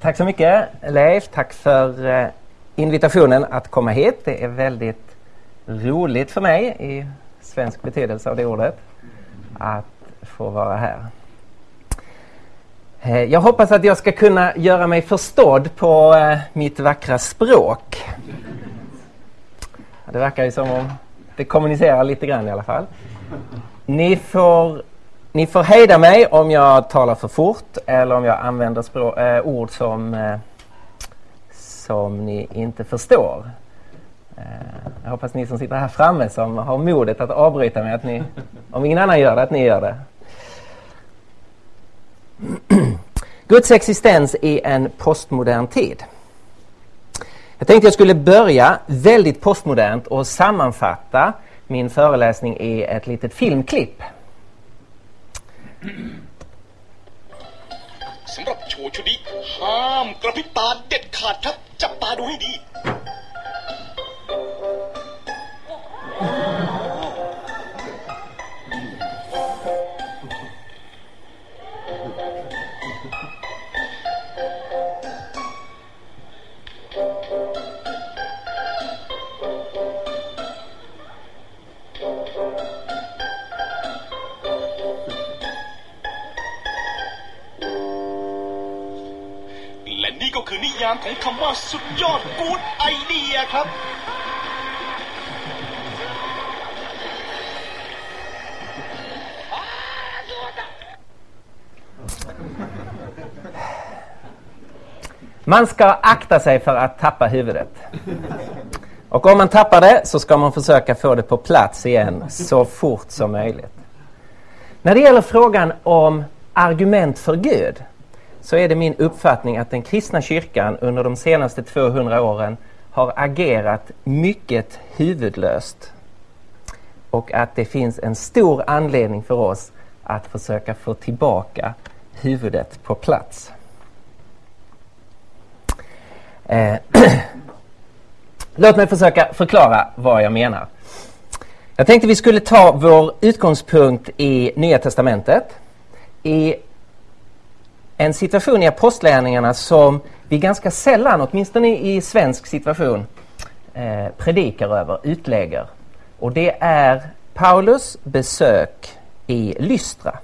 Tack så mycket Leif, tack för invitationen att komma hit. Det är väldigt roligt för mig i svensk betydelse av det ordet att få vara här. Jag hoppas att jag ska kunna göra mig förstådd på mitt vackra språk. Det verkar ju som om det kommunicerar lite grann i alla fall. Ni får hejda mig om jag talar för fort eller om jag använder ord som ni inte förstår. Jag hoppas ni som sitter här framme som har modet att avbryta mig, att ni, om ingen annan gör det, att ni gör det. Guds existens i en postmodern tid. Jag tänkte jag skulle börja väldigt postmodernt och sammanfatta min föreläsning i ett litet filmklipp. สำหรับโชว์ชุดนี้ห้ามกระพริบตาเด็ดขาดครับจับตาดูให้ดีก็คือนิยามของคำว่าสุดยอดกู๊ดไอเดียครับ Man ska akta sig för att tappa huvudet. Och om man tappar det så ska man försöka få det på plats igen så fort som möjligt. När det gäller frågan om argument för Gud så är det min uppfattning att den kristna kyrkan under de senaste 200 åren har agerat mycket huvudlöst. Och att det finns en stor anledning för oss att försöka få tillbaka huvudet på plats. Låt mig försöka förklara vad jag menar. Jag tänkte vi skulle ta vår utgångspunkt i Nya testamentet. I en situation i apostlagärningarna som vi ganska sällan, åtminstone i svensk situation, predikar över, utlägger. Och det är Paulus besök i Lystra.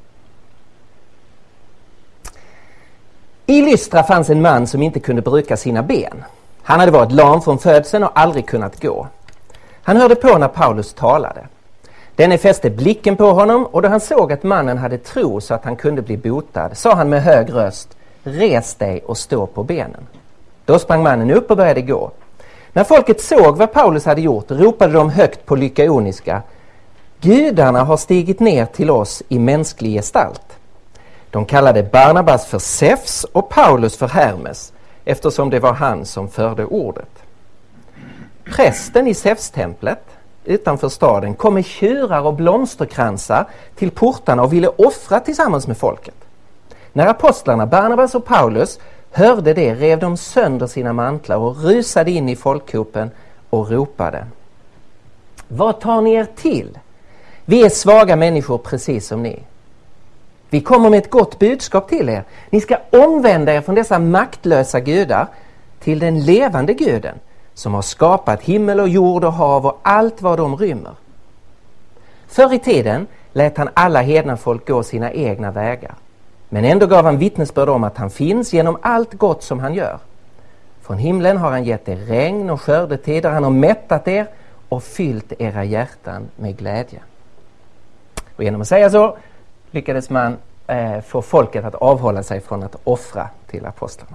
I Lystra fanns en man som inte kunde bruka sina ben. Han hade varit lam från födseln och aldrig kunnat gå. Han hörde på när Paulus talade. Denne fäste blicken på honom och då han såg att mannen hade tro så att han kunde bli botad sa han med hög röst: res dig och stå på benen. Då sprang mannen upp och började gå. När folket såg vad Paulus hade gjort ropade de högt på lykaoniska: gudarna har stigit ner till oss i mänsklig gestalt. De kallade Barnabas för Zeus och Paulus för Hermes eftersom det var han som förde ordet. Prästen i Zeus-templet utanför staden kom med tjurar och blomsterkransar till portarna och ville offra tillsammans med folket. När apostlarna Barnabas och Paulus hörde det rev de sönder sina mantlar och rusade in i folkhopen och ropade: vad tar ni er till? Vi är svaga människor precis som ni. Vi kommer med ett gott budskap till er. Ni ska omvända er från dessa maktlösa gudar till den levande guden som har skapat himmel och jord och hav och allt vad de rymmer. Förr i tiden lät han alla hedna folk gå sina egna vägar. Men ändå gav han vittnesbörd om att han finns genom allt gott som han gör. Från himlen har han gett er regn och skördetider. Han har mättat er och fyllt era hjärtan med glädje. Och genom att säga så lyckades man få folket att avhålla sig från att offra till apostlarna.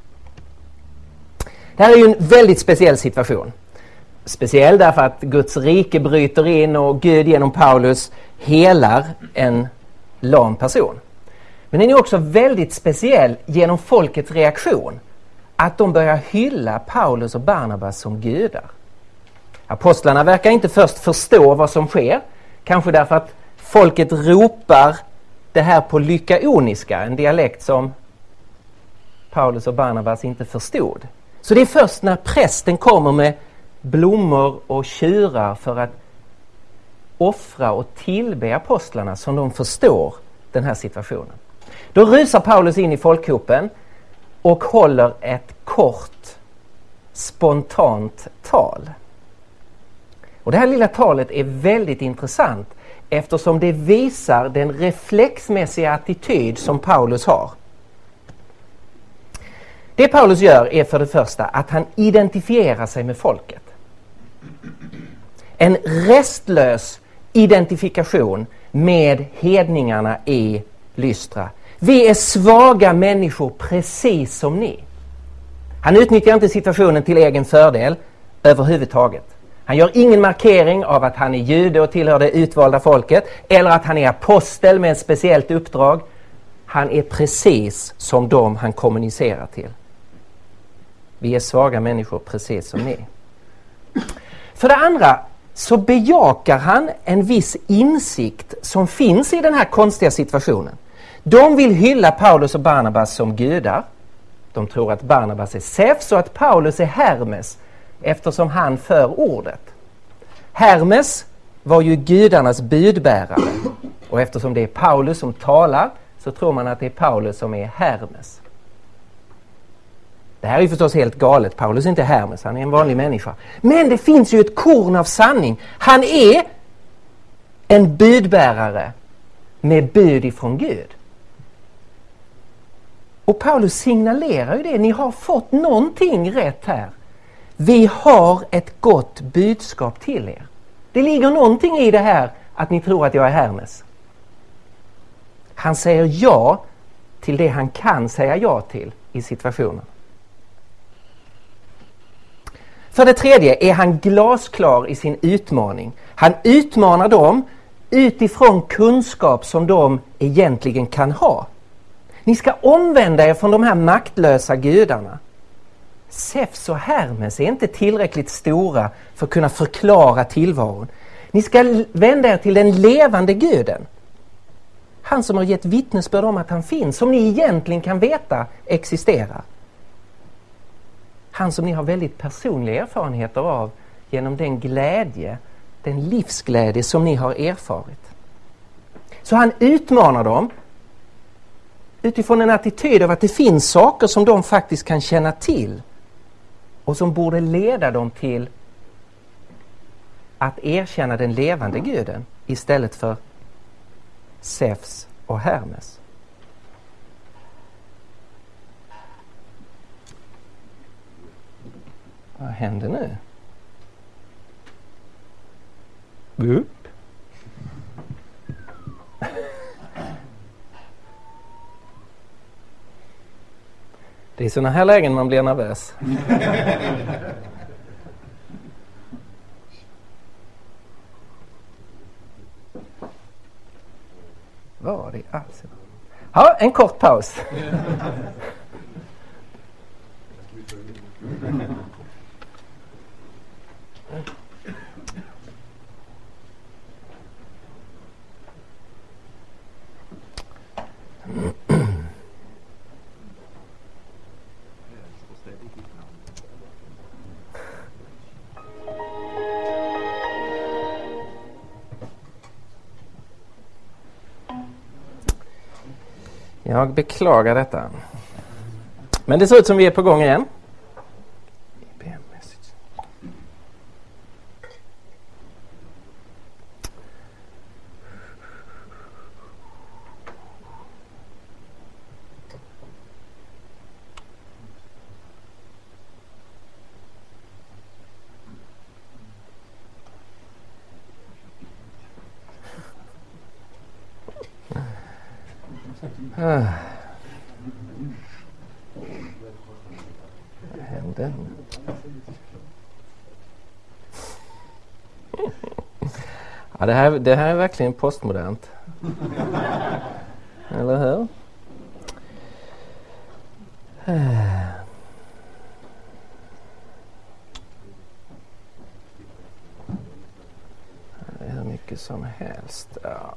Det här är ju en väldigt speciell situation. Speciell därför att Guds rike bryter in och Gud genom Paulus helar en lam person. Men den är också väldigt speciell genom folkets reaktion. Att de börjar hylla Paulus och Barnabas som gudar. Apostlarna verkar inte först förstå vad som sker. Kanske därför att folket ropar det här på lykaoniska, en dialekt som Paulus och Barnabas inte förstod. Så det är först när prästen kommer med blommor och tjurar för att offra och tillbe apostlarna som de förstår den här situationen. Då rusar Paulus in i folkhopen och håller ett kort, spontant tal. Och det här lilla talet är väldigt intressant eftersom det visar den reflexmässiga attityd som Paulus har. Det Paulus gör är för det första att han identifierar sig med folket. En restlös identifikation med hedningarna i Lystra. Vi är svaga människor precis som ni. Han utnyttjar inte situationen till egen fördel överhuvudtaget. Han gör ingen markering av att han är jude och tillhör det utvalda folket eller att han är apostel med ett speciellt uppdrag. Han är precis som de han kommunicerar till. Vi är svaga människor precis som ni. För det andra så bejakar han en viss insikt som finns i den här konstiga situationen. De vill hylla Paulus och Barnabas som gudar. De tror att Barnabas är Zeus och att Paulus är Hermes eftersom han för ordet. Hermes var ju gudarnas budbärare och eftersom det är Paulus som talar så tror man att det är Paulus som är Hermes. Det här är ju förstås helt galet. Paulus är inte Hermes, han är en vanlig människa. Men det finns ju ett korn av sanning. Han är en budbärare med bud ifrån Gud. Och Paulus signalerar ju det. Ni har fått någonting rätt här. Vi har ett gott budskap till er. Det ligger någonting i det här att ni tror att jag är Hermes. Han säger ja till det han kan säga ja till i situationen. För det tredje är han glasklar i sin utmaning. Han utmanar dem utifrån kunskap som de egentligen kan ha. Ni ska omvända er från de här maktlösa gudarna. Zeus och Hermes är inte tillräckligt stora för att kunna förklara tillvaron. Ni ska vända er till den levande guden. Han som har gett vittnesbörd om att han finns, som ni egentligen kan veta existerar. Han som ni har väldigt personliga erfarenheter av genom den glädje, den livsglädje som ni har erfarit. Så han utmanar dem utifrån en attityd av att det finns saker som de faktiskt kan känna till och som borde leda dem till att erkänna den levande guden istället för Zeus och Hermes. Vad händer nu? Upp. Det är i såna här lägen man blir nervös. Var det alltså? Ja, en kort paus. Jag beklagar detta. Men det ser ut som vi är på gång igen. Vad hände? Ja, det här är verkligen postmodernt. Eller hur? Det är hur mycket som helst. Ja.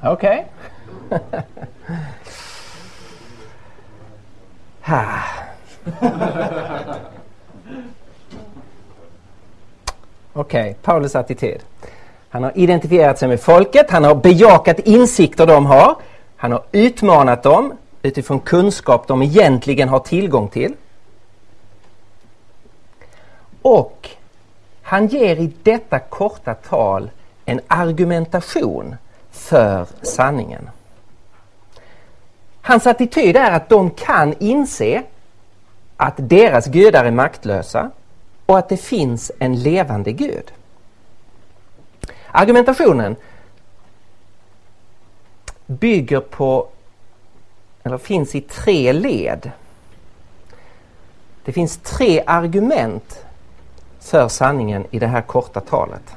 Okej. Okej, Paulus attityd. Han har identifierat sig med folket, han har bejakat insikter de har, han har utmanat dem utifrån kunskap de egentligen har tillgång till. Och han ger i detta korta tal en argumentation för sanningen. Hans attityd är att de kan inse att deras gudar är maktlösa och att det finns en levande Gud. Argumentationen bygger på, eller finns i 3 led. Det finns 3 argument för sanningen i det här korta talet.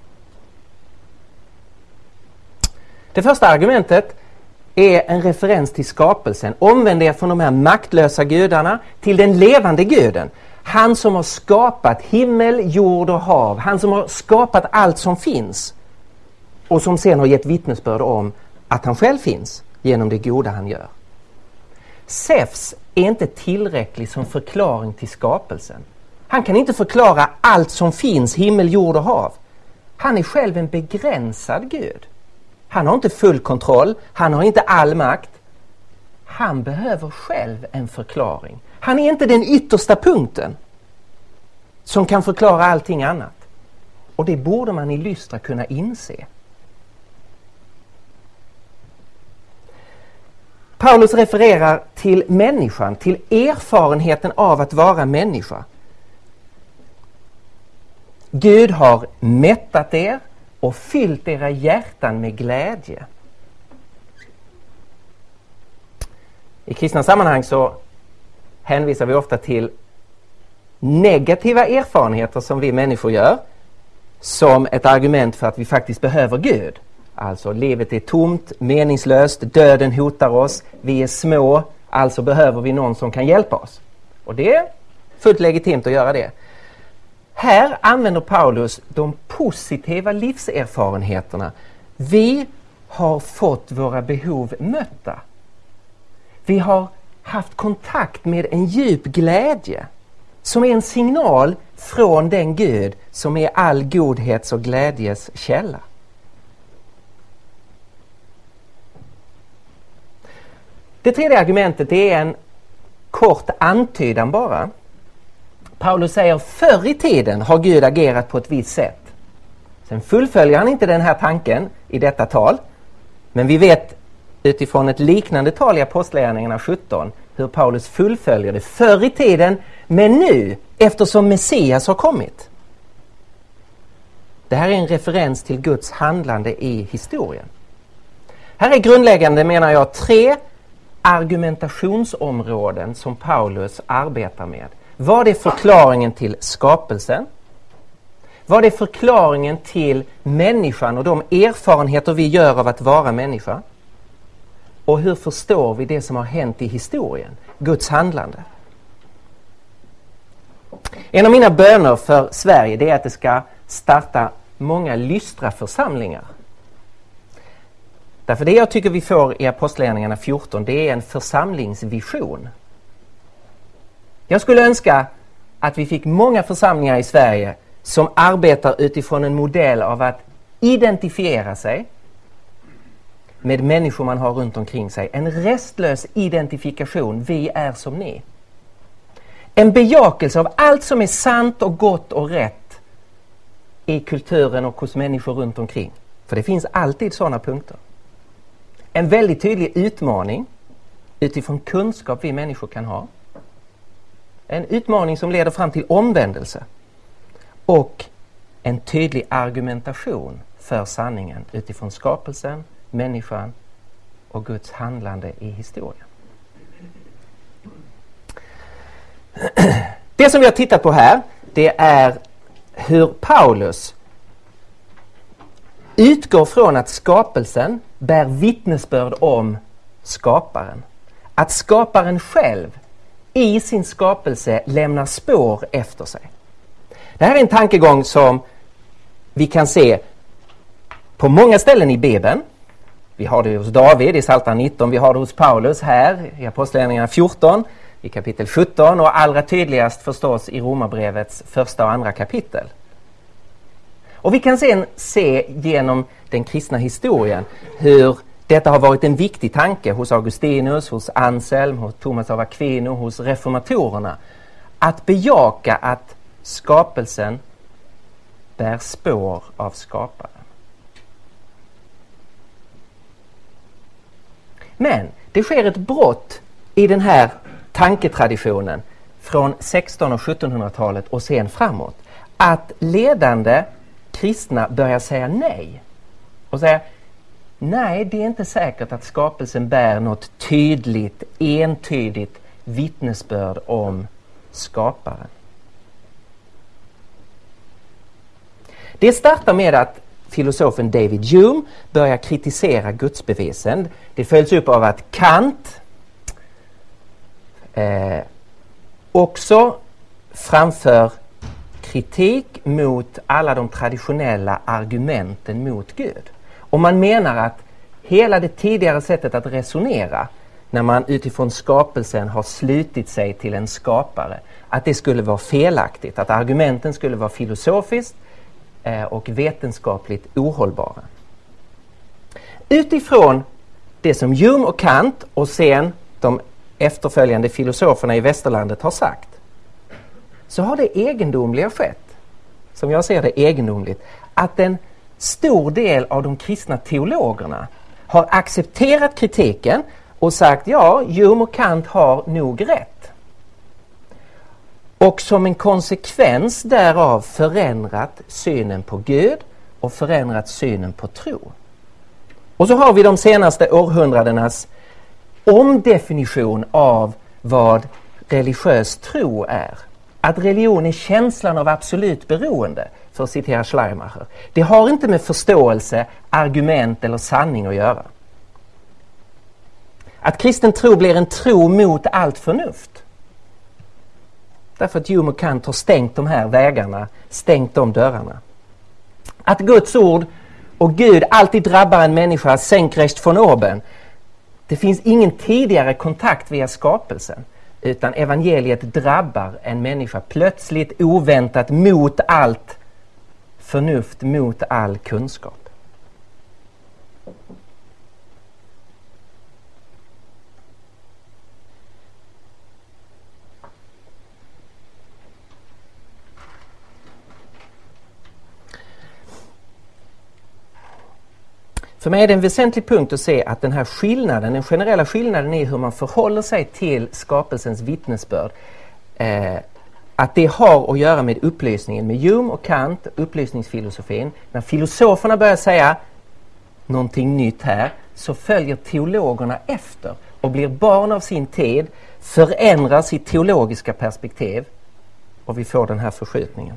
Det första argumentet är en referens till skapelsen. Omvänd er från de här maktlösa gudarna till den levande guden. Han som har skapat himmel, jord och hav. Han som har skapat allt som finns. Och som sen har gett vittnesbörd om att han själv finns genom det goda han gör. Zeus är inte tillräcklig som förklaring till skapelsen. Han kan inte förklara allt som finns, himmel, jord och hav. Han är själv en begränsad Gud. Han har inte full kontroll, han har inte all makt. Han behöver själv en förklaring. Han är inte den yttersta punkten som kan förklara allting annat. Och det borde man i Lystra kunna inse. Paulus refererar till människan, till erfarenheten av att vara människa. Gud har mättat er och fyllt era hjärtan med glädje. I kristna sammanhang så hänvisar vi ofta till negativa erfarenheter som vi människor gör som ett argument för att vi faktiskt behöver Gud. Alltså livet är tomt, meningslöst, döden hotar oss, vi är små, alltså behöver vi någon som kan hjälpa oss. Och det är fullt legitimt att göra det. Här använder Paulus de positiva livserfarenheterna. Vi har fått våra behov mötta. Vi har haft kontakt med en djup glädje som är en signal från den Gud som är all godhets och glädjes källa. Det tredje argumentet är en kort antydan bara. Paulus säger förr i tiden har Gud agerat på ett visst sätt. Sen fullföljer han inte den här tanken i detta tal. Men vi vet utifrån ett liknande tal i Apostlagärningarna 17 hur Paulus fullföljer det förr i tiden, men nu eftersom Messias har kommit. Det här är en referens till Guds handlande i historien. Här är grundläggande, menar jag, 3 argumentationsområden som Paulus arbetar med. Vad är förklaringen till skapelsen? Vad är förklaringen till människan och de erfarenheter vi gör av att vara människa? Och hur förstår vi det som har hänt i historien? Guds handlande. En av mina böner för Sverige det är att det ska starta många lystra församlingar. Därför det jag tycker vi får i Apostlagärningarna 14 det är en församlingsvision. Jag skulle önska att vi fick många församlingar i Sverige som arbetar utifrån en modell av att identifiera sig med människor man har runt omkring sig. En restlös identifikation, vi är som ni. En bejakelse av allt som är sant och gott och rätt i kulturen och hos människor runt omkring. För det finns alltid sådana punkter. En väldigt tydlig utmaning utifrån kunskap vi människor kan ha. En utmaning som leder fram till omvändelse. Och en tydlig argumentation för sanningen utifrån skapelsen, människan och Guds handlande i historien. Det som vi har tittat på här, det är hur Paulus utgår från att skapelsen bär vittnesbörd om skaparen. Att skaparen själv i sin skapelse lämnar spår efter sig. Det här är en tankegång som vi kan se på många ställen i Bibeln. Vi har det hos David i Psaltaren 19, vi har det hos Paulus här i Apostlagärningarna 14, i kapitel 17 och allra tydligast förstås i Romarbrevets första och andra kapitel. Och vi kan sen se genom den kristna historien hur detta har varit en viktig tanke hos Augustinus, hos Anselm, hos Thomas av Aquino, hos reformatorerna. Att bejaka att skapelsen bär spår av skaparen. Men det sker ett brott i den här tanketraditionen från 1600- och 1700-talet och sen framåt. Att ledande kristna börjar säga nej. Och säga, nej, det är inte säkert att skapelsen bär något tydligt, entydigt vittnesbörd om skaparen. Det startar med att filosofen David Hume börjar kritisera gudsbevisen. Det följs upp av att Kant också framför kritik mot alla de traditionella argumenten mot Gud. Och man menar att hela det tidigare sättet att resonera, när man utifrån skapelsen har slutit sig till en skapare, att det skulle vara felaktigt, att argumenten skulle vara filosofiskt och vetenskapligt ohållbara. Utifrån det som Hume och Kant och sen de efterföljande filosoferna i västerlandet har sagt, så har det egendomliga skett, som jag ser det egendomligt, att en stor del av de kristna teologerna har accepterat kritiken och sagt, ja, Hume och Kant har nog rätt. Och som en konsekvens därav förändrat synen på Gud och förändrat synen på tro. Och så har vi de senaste århundradenas omdefinition av vad religiös tro är. Att religion är känslan av absolut beroende, för att citera Schleiermacher. Det har inte med förståelse, argument eller sanning att göra. Att kristen tro blir en tro mot allt förnuft. Därför att Hume och Kant har stängt de här vägarna, stängt de dörrarna. Att Guds ord och Gud alltid drabbar en människa senkrecht von oben. Det finns ingen tidigare kontakt via skapelsen, utan evangeliet drabbar en människa plötsligt, oväntat, mot allt förnuft, mot all kunskap. För mig är det en väsentlig punkt att se att den här skillnaden, den generella skillnaden i hur man förhåller sig till skapelsens vittnesbörd, att det har att göra med upplysningen, med Hume och Kant, upplysningsfilosofin. När filosoferna börjar säga någonting nytt här, så följer teologerna efter och blir barn av sin tid, förändrar sitt teologiska perspektiv och vi får den här förskjutningen.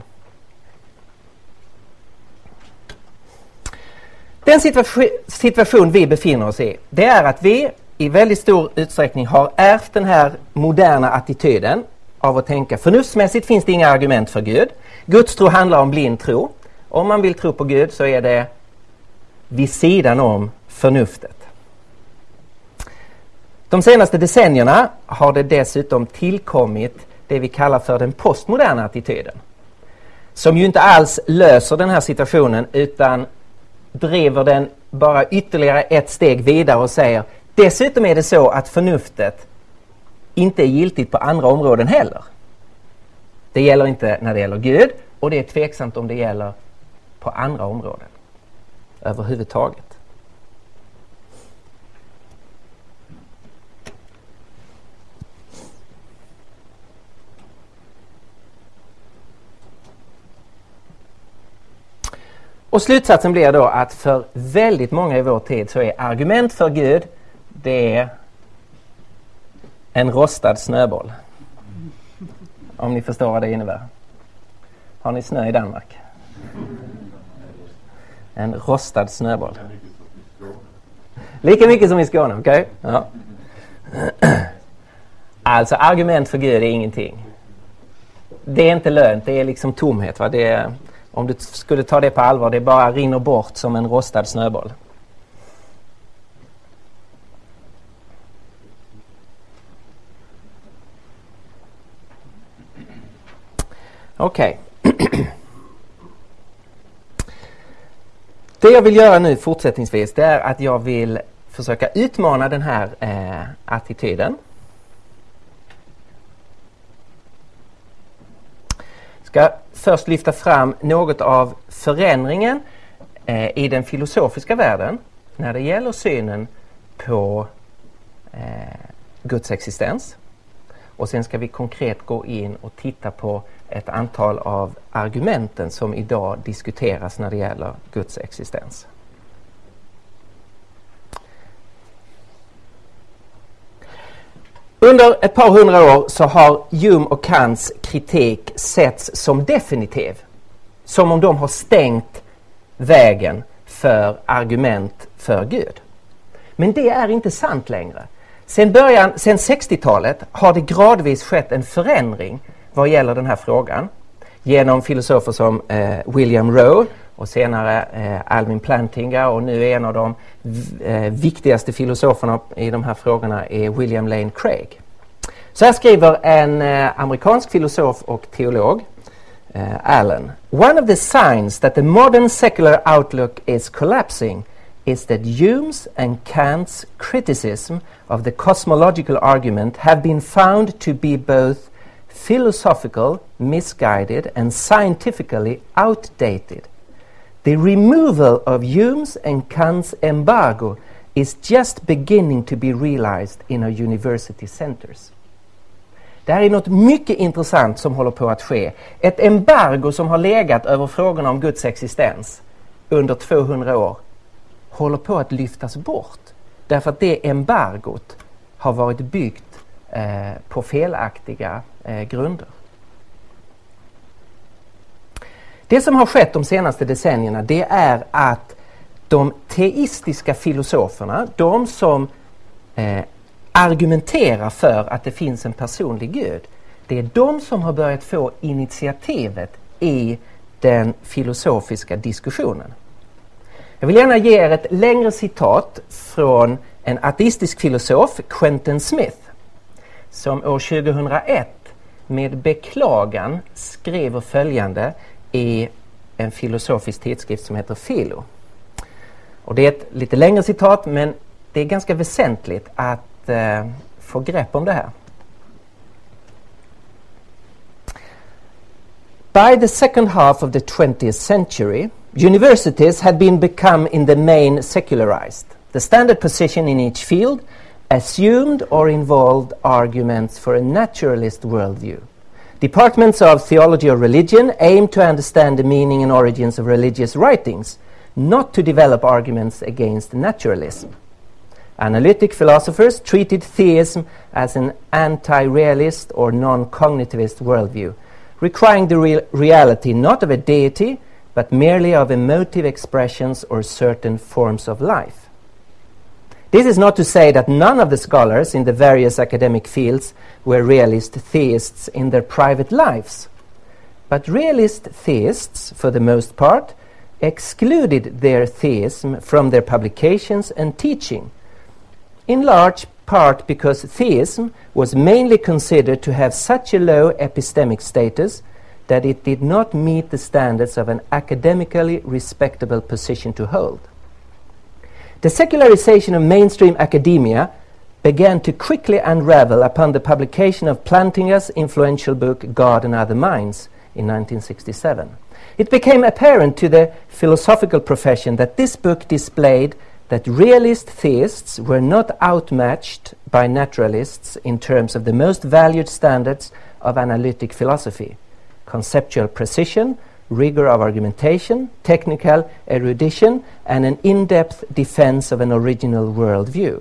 Den situation vi befinner oss i, det är att vi i väldigt stor utsträckning har ärvt den här moderna attityden av att tänka förnuftsmässigt finns det inga argument för Gud. Guds tro handlar om blind tro. Om man vill tro på Gud så är det vid sidan om förnuftet. De senaste decennierna har det dessutom tillkommit det vi kallar för den postmoderna attityden. Som ju inte alls löser den här situationen utan driver den bara ytterligare ett steg vidare och säger dessutom är det så att förnuftet inte är giltigt på andra områden heller. Det gäller inte när det gäller Gud och det är tveksamt om det gäller på andra områden överhuvudtaget. Och slutsatsen blir då att för väldigt många i vår tid så är argument för Gud, det är en rostad snöboll. Om ni förstår vad det innebär. Har ni snö i Danmark? En rostad snöboll. Lika mycket som i Skåne, okej? Okay? Ja. Alltså argument för Gud är ingenting. Det är inte lönt, det är liksom tomhet, va? Det är, om du skulle ta det på allvar, det bara rinner bort som en rostad snöboll. Okej. Det jag vill göra nu fortsättningsvis, det är att jag vill försöka utmana den här attityden. Ska först lyfta fram något av förändringen i den filosofiska världen när det gäller synen på Guds existens. Och sen ska vi konkret gå in och titta på ett antal av argumenten som idag diskuteras när det gäller Guds existens. Under ett par hundra år så har Hume och Kants kritik setts som definitiv. Som om de har stängt vägen för argument för Gud. Men det är inte sant längre. Sen 60-talet har det gradvis skett en förändring vad gäller den här frågan. Genom filosofer som William Rowe och senare Alvin Plantinga, och nu är en av de viktigaste filosoferna i de här frågorna är William Lane Craig. Så här skriver en amerikansk filosof och teolog, Allen. One of the signs that the modern secular outlook is collapsing is that Hume's and Kant's criticism of the cosmological argument have been found to be both philosophical, misguided, and scientifically outdated. The removal of Hume's and Kant's embargo is just beginning to be realized in our university centers. Det här är något mycket intressant som håller på att ske. Ett embargo som har legat över frågorna om Guds existens under 200 år håller på att lyftas bort. Därför att det embargot har varit byggt på felaktiga grunder. Det som har skett de senaste decennierna, det är att de teistiska filosoferna, de som argumenterar för att det finns en personlig Gud, det är de som har börjat få initiativet i den filosofiska diskussionen. Jag vill gärna ge er ett längre citat från en ateistisk filosof, Quentin Smith, som år 2001 med beklagan skrev följande i en filosofisk tidskrift som heter Philo. Och det är ett lite längre citat, men det är ganska väsentligt att få grepp om det här. By the second half of the 20th century, universities had become in the main secularized. The standard position in each field assumed or involved arguments for a naturalist worldview. Departments of theology or religion aimed to understand the meaning and origins of religious writings, not to develop arguments against naturalism. Analytic philosophers treated theism as an anti-realist or non-cognitivist worldview, requiring the reality not of a deity, but merely of emotive expressions or certain forms of life. This is not to say that none of the scholars in the various academic fields were realist theists in their private lives, but realist theists, for the most part, excluded their theism from their publications and teaching, in large part because theism was mainly considered to have such a low epistemic status that it did not meet the standards of an academically respectable position to hold. The secularization of mainstream academia began to quickly unravel upon the publication of Plantinga's influential book God and Other Minds in 1967. It became apparent to the philosophical profession that this book displayed that realist theists were not outmatched by naturalists in terms of the most valued standards of analytic philosophy: conceptual precision, rigor of argumentation, technical erudition, and an in-depth defense of an original worldview.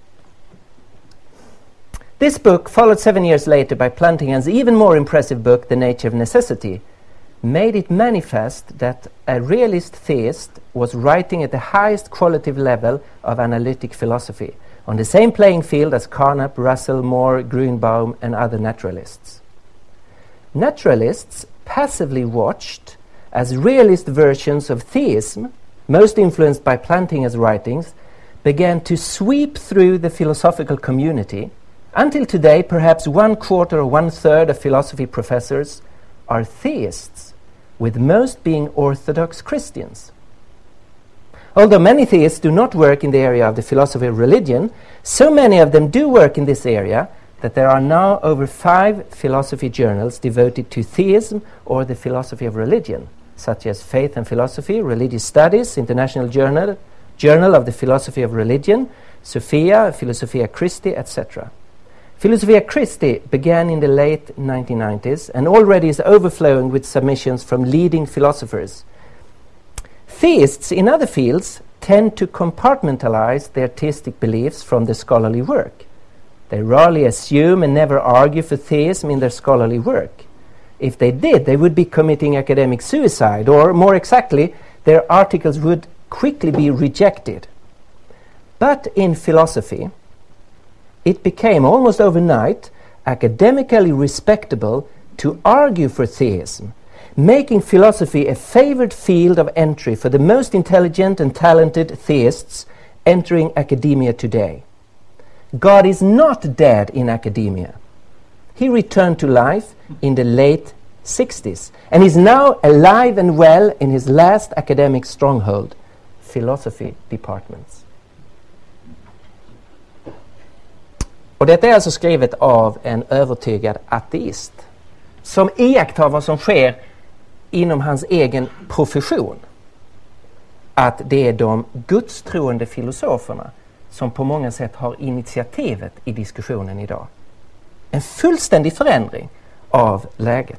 This book, followed 7 years later by Plantinga's even more impressive book, The Nature of Necessity, made it manifest that a realist theist was writing at the highest qualitative level of analytic philosophy, on the same playing field as Carnap, Russell, Moore, Grünbaum, and other naturalists. Naturalists passively watched as realist versions of theism, most influenced by Plantinga's writings, began to sweep through the philosophical community. Until today, perhaps 1/4 or 1/3 of philosophy professors are theists, with most being Orthodox Christians. Although many theists do not work in the area of the philosophy of religion, so many of them do work in this area that there are now over 5 philosophy journals devoted to theism or the philosophy of religion, such as Faith and Philosophy, Religious Studies, International Journal of the Philosophy of Religion, Sophia, Philosophia Christi, etc. Philosophia Christi began in the late 1990s and already is overflowing with submissions from leading philosophers. Theists in other fields tend to compartmentalize their theistic beliefs from the scholarly work. They rarely assume and never argue for theism in their scholarly work. If they did, they would be committing academic suicide, or more exactly, their articles would quickly be rejected. But in philosophy, it became almost overnight academically respectable to argue for theism, making philosophy a favored field of entry for the most intelligent and talented theists entering academia today. God is not dead in academia. He returned to life in the late 60s and is now alive and well in his last academic stronghold, philosophy departments. Och detta är alltså skrivet av en övertygad ateist som iakttar vad som sker inom hans egen profession. Att det är de gudstroende filosoferna som på många sätt har initiativet i diskussionen idag. En fullständig förändring av läget.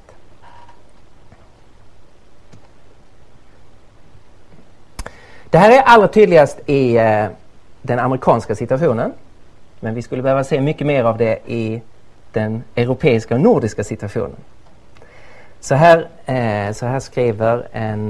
Det här är allra tydligast i den amerikanska situationen. Men vi skulle behöva se mycket mer av det i den europeiska och nordiska situationen. Så här skriver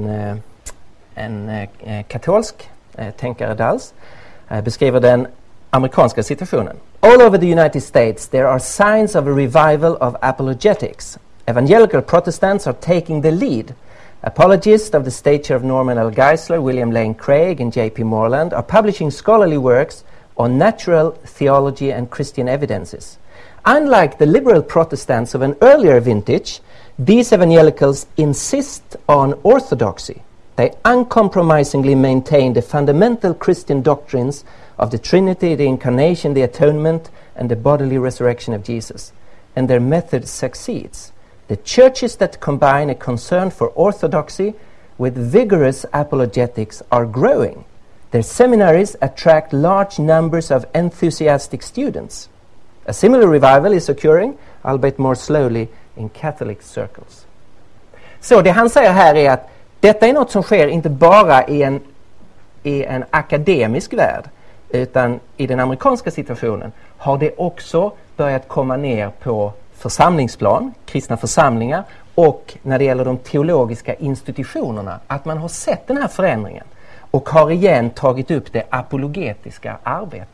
en katolsk tänkare Dals, beskriver den amerikanska situationen. All over the United States there are signs of a revival of apologetics. Evangelical Protestants are taking the lead. Apologists of the stature of Norman L. Geisler, William Lane Craig and J.P. Moreland are publishing scholarly works on natural theology and Christian evidences. Unlike the liberal Protestants of an earlier vintage, these evangelicals insist on orthodoxy. They uncompromisingly maintain the fundamental Christian doctrines of the Trinity, the Incarnation, the Atonement, and the bodily resurrection of Jesus. And their method succeeds. The churches that combine a concern for orthodoxy with vigorous apologetics are growing. Their seminaries attract large numbers of enthusiastic students. A similar revival is occurring, albeit more slowly, in Catholic circles. Så det han säger här är att detta är något som sker inte bara i en akademisk värld, utan i den amerikanska situationen har det också börjat komma ner på församlingsplan, kristna församlingar, och när det gäller de teologiska institutionerna, att man har sett den här förändringen och har igen tagit upp det apologetiska arbetet.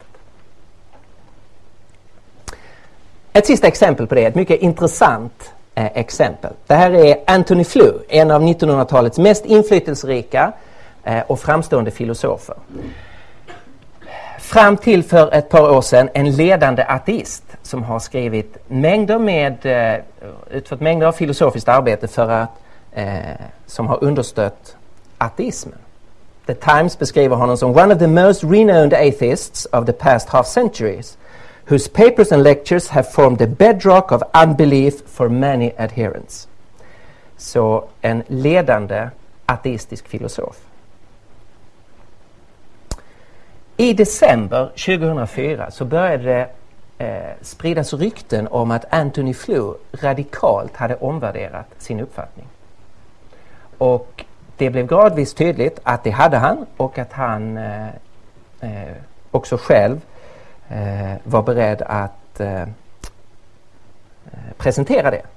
Ett sista exempel på det, ett mycket intressant exempel. Det här är Antony Flew, en av 1900-talets mest inflytelserika och framstående filosofer. Fram till för ett par år sedan en ledande ateist som har skrivit utfört mängder av filosofiskt arbete för att som har understött ateismen. The Times beskriver honom som one of the most renowned atheists of the past half centuries, whose papers and lectures have formed the bedrock of unbelief for many adherents. Så en ledande ateistisk filosof. I december 2004 så började det spridas rykten om att Antony Flew radikalt hade omvärderat sin uppfattning. Och det blev gradvis tydligt att det hade han, och att han också själv var beredd att presentera det.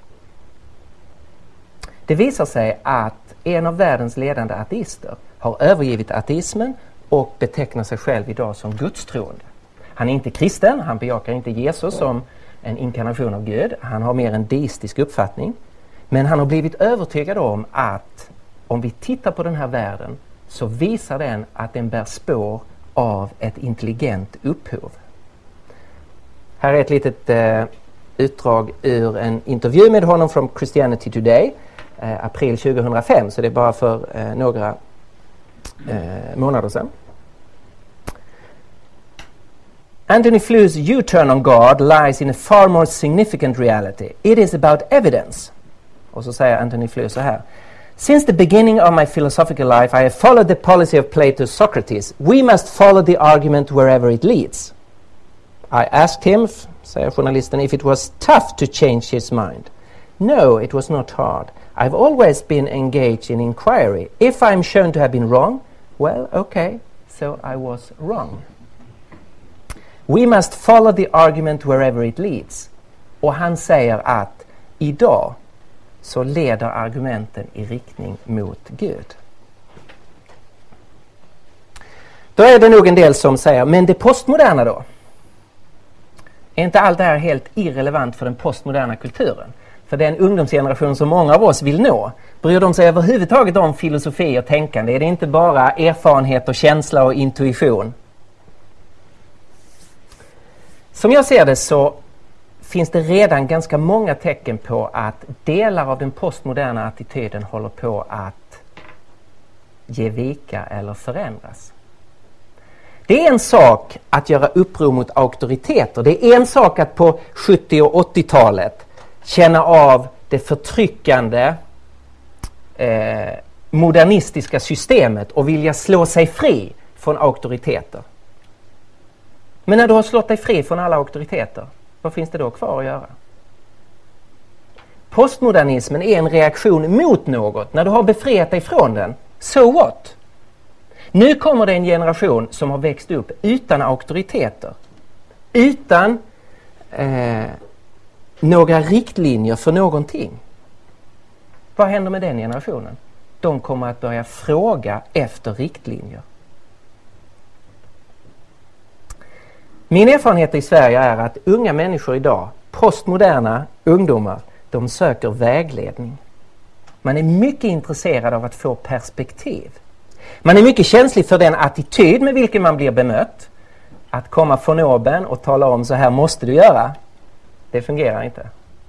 Det visar sig att en av världens ledande ateister har övergivit ateismen och betecknar sig själv idag som gudstroende. Han är inte kristen, han bejakar inte Jesus som en inkarnation av Gud. Han har mer en deistisk uppfattning. Men han har blivit övertygad om att om vi tittar på den här världen så visar den att den bär spår av ett intelligent upphov. Här är ett litet utdrag ur en intervju med honom från Christianity Today, april 2005, så det är bara för några månader sedan. Antony Flu's U-turn on God lies in a far more significant reality. It is about evidence. Och så säger Antony Flew så här. Since the beginning of my philosophical life I have followed the policy of Plato's Socrates. We must follow the argument wherever it leads. I asked him, säger journalisten, if it was tough to change his mind. No, it was not hard. I've always been engaged in inquiry. If I'm shown to have been wrong, well, okay, so I was wrong. We must follow the argument wherever it leads. Och han säger att idag så leder argumenten i riktning mot Gud. Då är det nog en del som säger, men det postmoderna då? Är inte allt det här helt irrelevant för den postmoderna kulturen? För den ungdomsgeneration som många av oss vill nå, bryr de sig överhuvudtaget om filosofi och tänkande? Är det inte bara erfarenhet och känsla och intuition? Som jag ser det så finns det redan ganska många tecken på att delar av den postmoderna attityden håller på att ge vika eller förändras. Det är en sak att göra uppror mot auktoriteter. Det är en sak att på 70- och 80-talet känna av det förtryckande modernistiska systemet och vilja slå sig fri från auktoriteter. Men när du har slått dig fri från alla auktoriteter, vad finns det då kvar att göra? Postmodernismen är en reaktion mot något. När du har befriat dig från den, so what? Nu kommer det en generation som har växt upp utan auktoriteter. Utan några riktlinjer för någonting. Vad händer med den generationen? De kommer att börja fråga efter riktlinjer. Min erfarenhet i Sverige är att unga människor idag, postmoderna ungdomar, de söker vägledning. Man är mycket intresserad av att få perspektiv. Man är mycket känslig för den attityd med vilken man blir bemött. Att komma från oben och tala om så här måste du göra, det fungerar inte.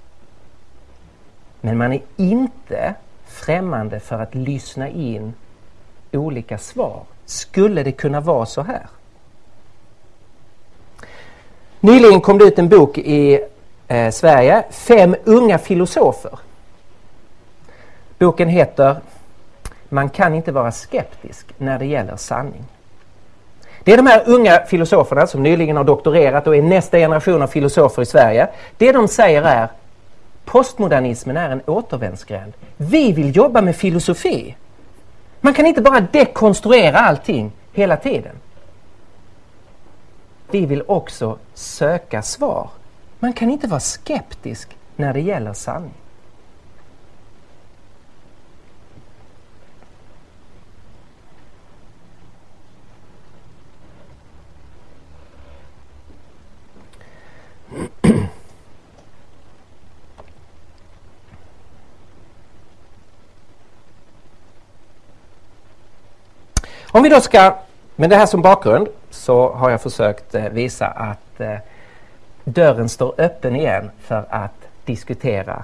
Men man är inte främmande för att lyssna in olika svar. Skulle det kunna vara så här? Nyligen kom det ut en bok i Sverige, 5 unga filosofer. Boken heter Man kan inte vara skeptisk när det gäller sanning. Det är de här unga filosoferna som nyligen har doktorerat och är nästa generation av filosofer i Sverige. Det de säger är postmodernismen är en återvändsgränd. Vi vill jobba med filosofi. Man kan inte bara dekonstruera allting hela tiden. Vi vill också söka svar. Man kan inte vara skeptisk när det gäller sanning. Om vi då ska, med det här som bakgrund, så har jag försökt visa att dörren står öppen igen för att diskutera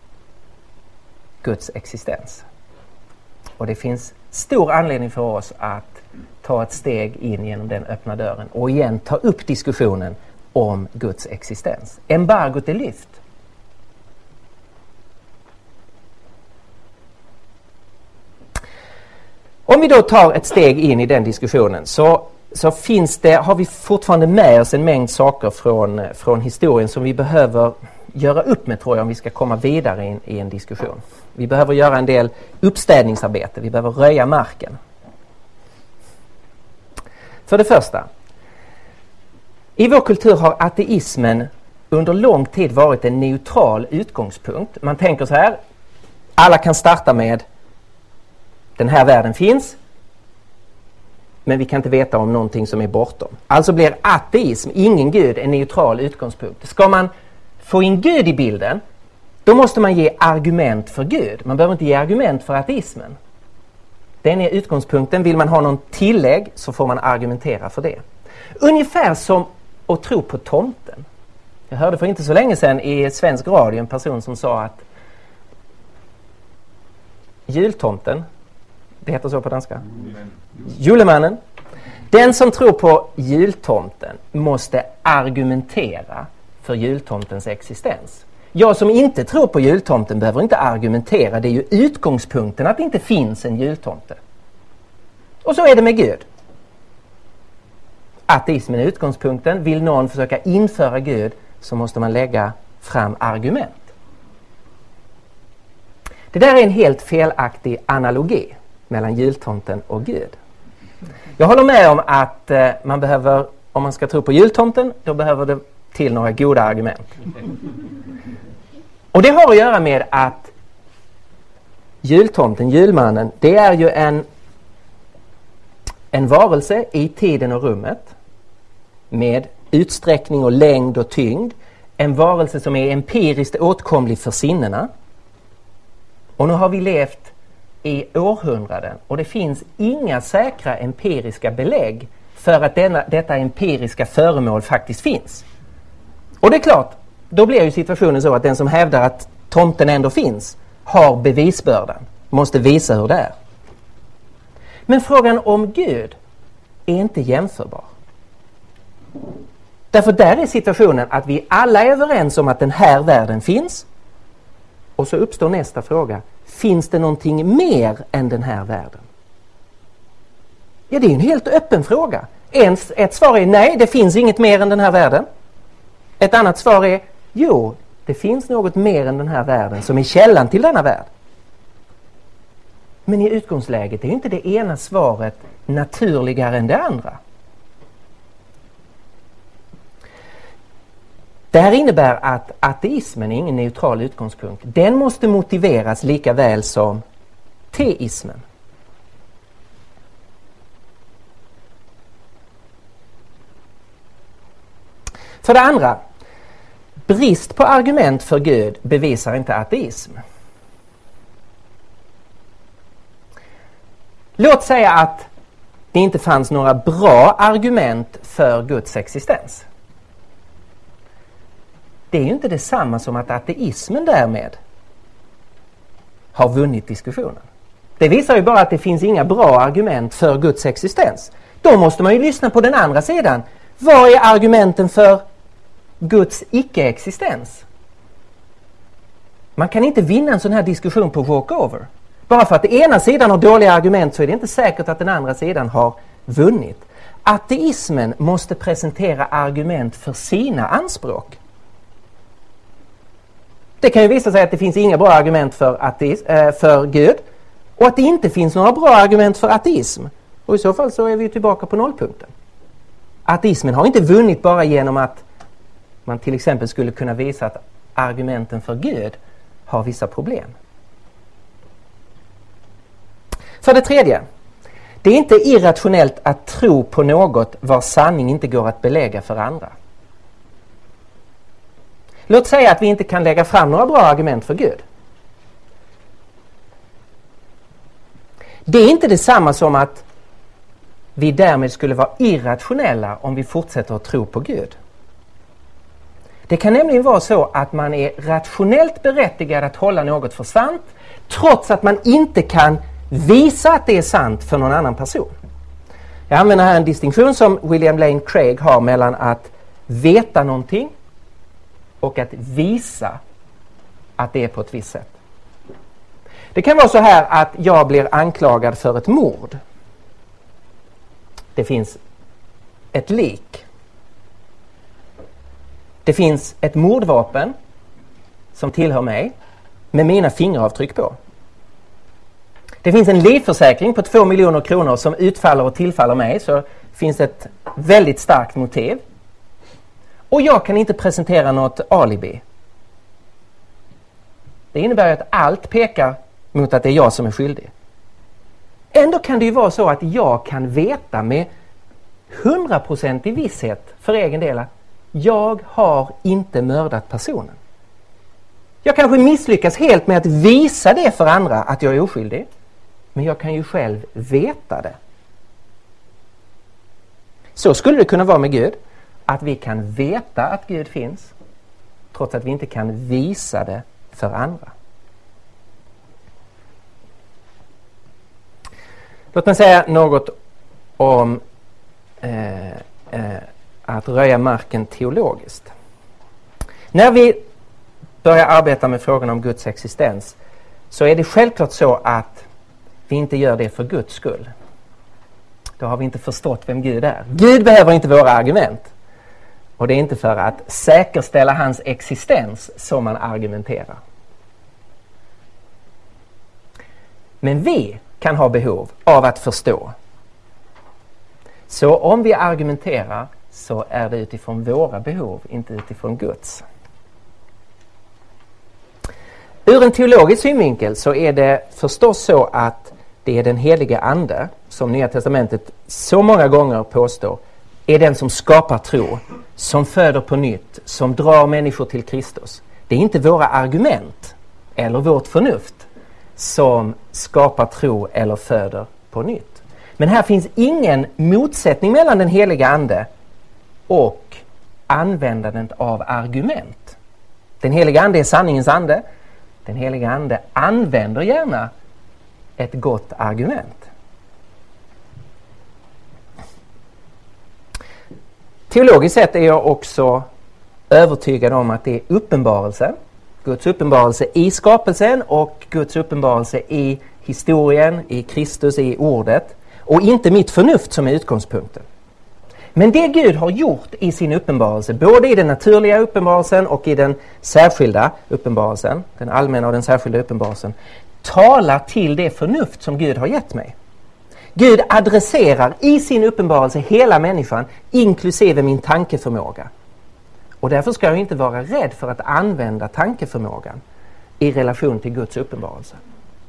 Guds existens. Och det finns stor anledning för oss att ta ett steg in genom den öppna dörren och igen ta upp diskussionen om Guds existens. Embargot är lyft. Om vi då tar ett steg in i den diskussionen så har vi fortfarande med oss en mängd saker från historien som vi behöver göra upp med, tror jag, om vi ska komma vidare i en diskussion. Vi behöver göra en del uppstädningsarbete, vi behöver röja marken. För det första, i vår kultur har ateismen under lång tid varit en neutral utgångspunkt. Man tänker så här, alla kan starta med den här världen finns, men vi kan inte veta om någonting som är bortom. Alltså blir ateism, ingen Gud, en neutral utgångspunkt. Ska man få in Gud i bilden, då måste man ge argument för Gud. Man behöver inte ge argument för ateismen. Den är utgångspunkten. Vill man ha någon tillägg så får man argumentera för det. Ungefär som att tro på tomten. Jag hörde för inte så länge sedan i svensk radio en person som sa att jultomten, det heter så på danska, julemannen. Den som tror på jultomten måste argumentera för jultomtens existens. Jag som inte tror på jultomten behöver inte argumentera. Det är ju utgångspunkten att det inte finns en jultomte. Och så är det med Gud. Ateismen är utgångspunkten. Vill någon försöka införa Gud så måste man lägga fram argument. Det där är en helt felaktig analogi mellan jultomten och Gud. Jag håller med om att man behöver, om man ska tro på jultomten, då behöver det till några goda argument. Och det har att göra med att jultomten, julmannen, det är ju en varelse i tiden och rummet med utsträckning och längd och tyngd. En varelse som är empiriskt åtkomlig för sinnena. Och nu har vi levt i århundraden och det finns inga säkra empiriska belägg för att detta empiriska föremål faktiskt finns. Och det är klart, då blir ju situationen så att den som hävdar att tomten ändå finns har bevisbördan, måste visa hur det är. Men frågan om Gud är inte jämförbar. Därför där är situationen att vi alla är överens om att den här världen finns. Och så uppstår nästa fråga. Finns det någonting mer än den här världen? Ja, det är en helt öppen fråga. Ett svar är nej, det finns inget mer än den här världen. Ett annat svar är jo, det finns något mer än den här världen som är källan till denna värld. Men i utgångsläget är ju inte det ena svaret naturligare än det andra. Det här innebär att ateismen är ingen neutral utgångspunkt. Den måste motiveras lika väl som teismen. För det andra, brist på argument för Gud bevisar inte ateism. Låt säga att det inte fanns några bra argument för Guds existens. Det är ju inte detsamma som att ateismen därmed har vunnit diskussionen. Det visar ju bara att det finns inga bra argument för Guds existens. Då måste man ju lyssna på den andra sidan. Vad är argumenten för Guds icke-existens? Man kan inte vinna en sån här diskussion på walkover. Bara för att den ena sidan har dåliga argument så är det inte säkert att den andra sidan har vunnit. Ateismen måste presentera argument för sina anspråk. Det kan ju visa sig att det finns inga bra argument för Gud och att det inte finns några bra argument för ateism. Och i så fall så är vi tillbaka på nollpunkten. Ateismen har inte vunnit bara genom att man till exempel skulle kunna visa att argumenten för Gud har vissa problem. För det tredje, det är inte irrationellt att tro på något vars sanning inte går att belägga för andra. Låt säga att vi inte kan lägga fram några bra argument för Gud. Det är inte detsamma som att vi därmed skulle vara irrationella om vi fortsätter att tro på Gud. Det kan nämligen vara så att man är rationellt berättigad att hålla något för sant trots att man inte kan visa att det är sant för någon annan person. Jag använder här en distinktion som William Lane Craig har mellan att veta någonting och att visa att det är på ett visst sätt. Det kan vara så här att jag blir anklagad för ett mord. Det finns ett lik. Det finns ett mordvapen som tillhör mig med mina fingeravtryck på. Det finns en livförsäkring på 2 miljoner kronor som utfaller och tillfaller mig, så finns ett väldigt starkt motiv. Och jag kan inte presentera något alibi. Det innebär att allt pekar mot att det är jag som är skyldig. Ändå kan det ju vara så att jag kan veta med 100% i visshet för egen del att jag har inte mördat personen. Jag kanske misslyckas helt med att visa det för andra att jag är oskyldig. Men jag kan ju själv veta det. Så skulle det kunna vara med Gud. Att vi kan veta att Gud finns trots att vi inte kan visa det för andra. Låt mig säga något om att röja marken teologiskt. När vi börjar arbeta med frågan om Guds existens så är det självklart så att vi inte gör det för Guds skull. Då har vi inte förstått vem Gud är. Gud behöver inte våra argument. Och det är inte för att säkerställa hans existens som man argumenterar. Men vi kan ha behov av att förstå. Så om vi argumenterar så är det utifrån våra behov, inte utifrån Guds. Ur en teologisk synvinkel så är det förstås så att det är den helige ande, som Nya testamentet så många gånger påstår, är den som skapar tro, som föder på nytt, som drar människor till Kristus. Det är inte våra argument eller vårt förnuft som skapar tro eller föder på nytt. Men här finns ingen motsättning mellan den heliga ande och användandet av argument. Den heliga ande är sanningens ande. Den heliga ande använder gärna ett gott argument. Teologiskt sett är jag också övertygad om att det är uppenbarelse. Guds uppenbarelse i skapelsen och Guds uppenbarelse i historien, i Kristus, i ordet. Och inte mitt förnuft som är utgångspunkten. Men det Gud har gjort i sin uppenbarelse, både i den naturliga uppenbarelsen och i den särskilda uppenbarelsen, den allmänna och den särskilda uppenbarelsen, talar till det förnuft som Gud har gett mig. Gud adresserar i sin uppenbarelse hela människan, inklusive min tankeförmåga. Och därför ska jag inte vara rädd för att använda tankeförmågan i relation till Guds uppenbarelse.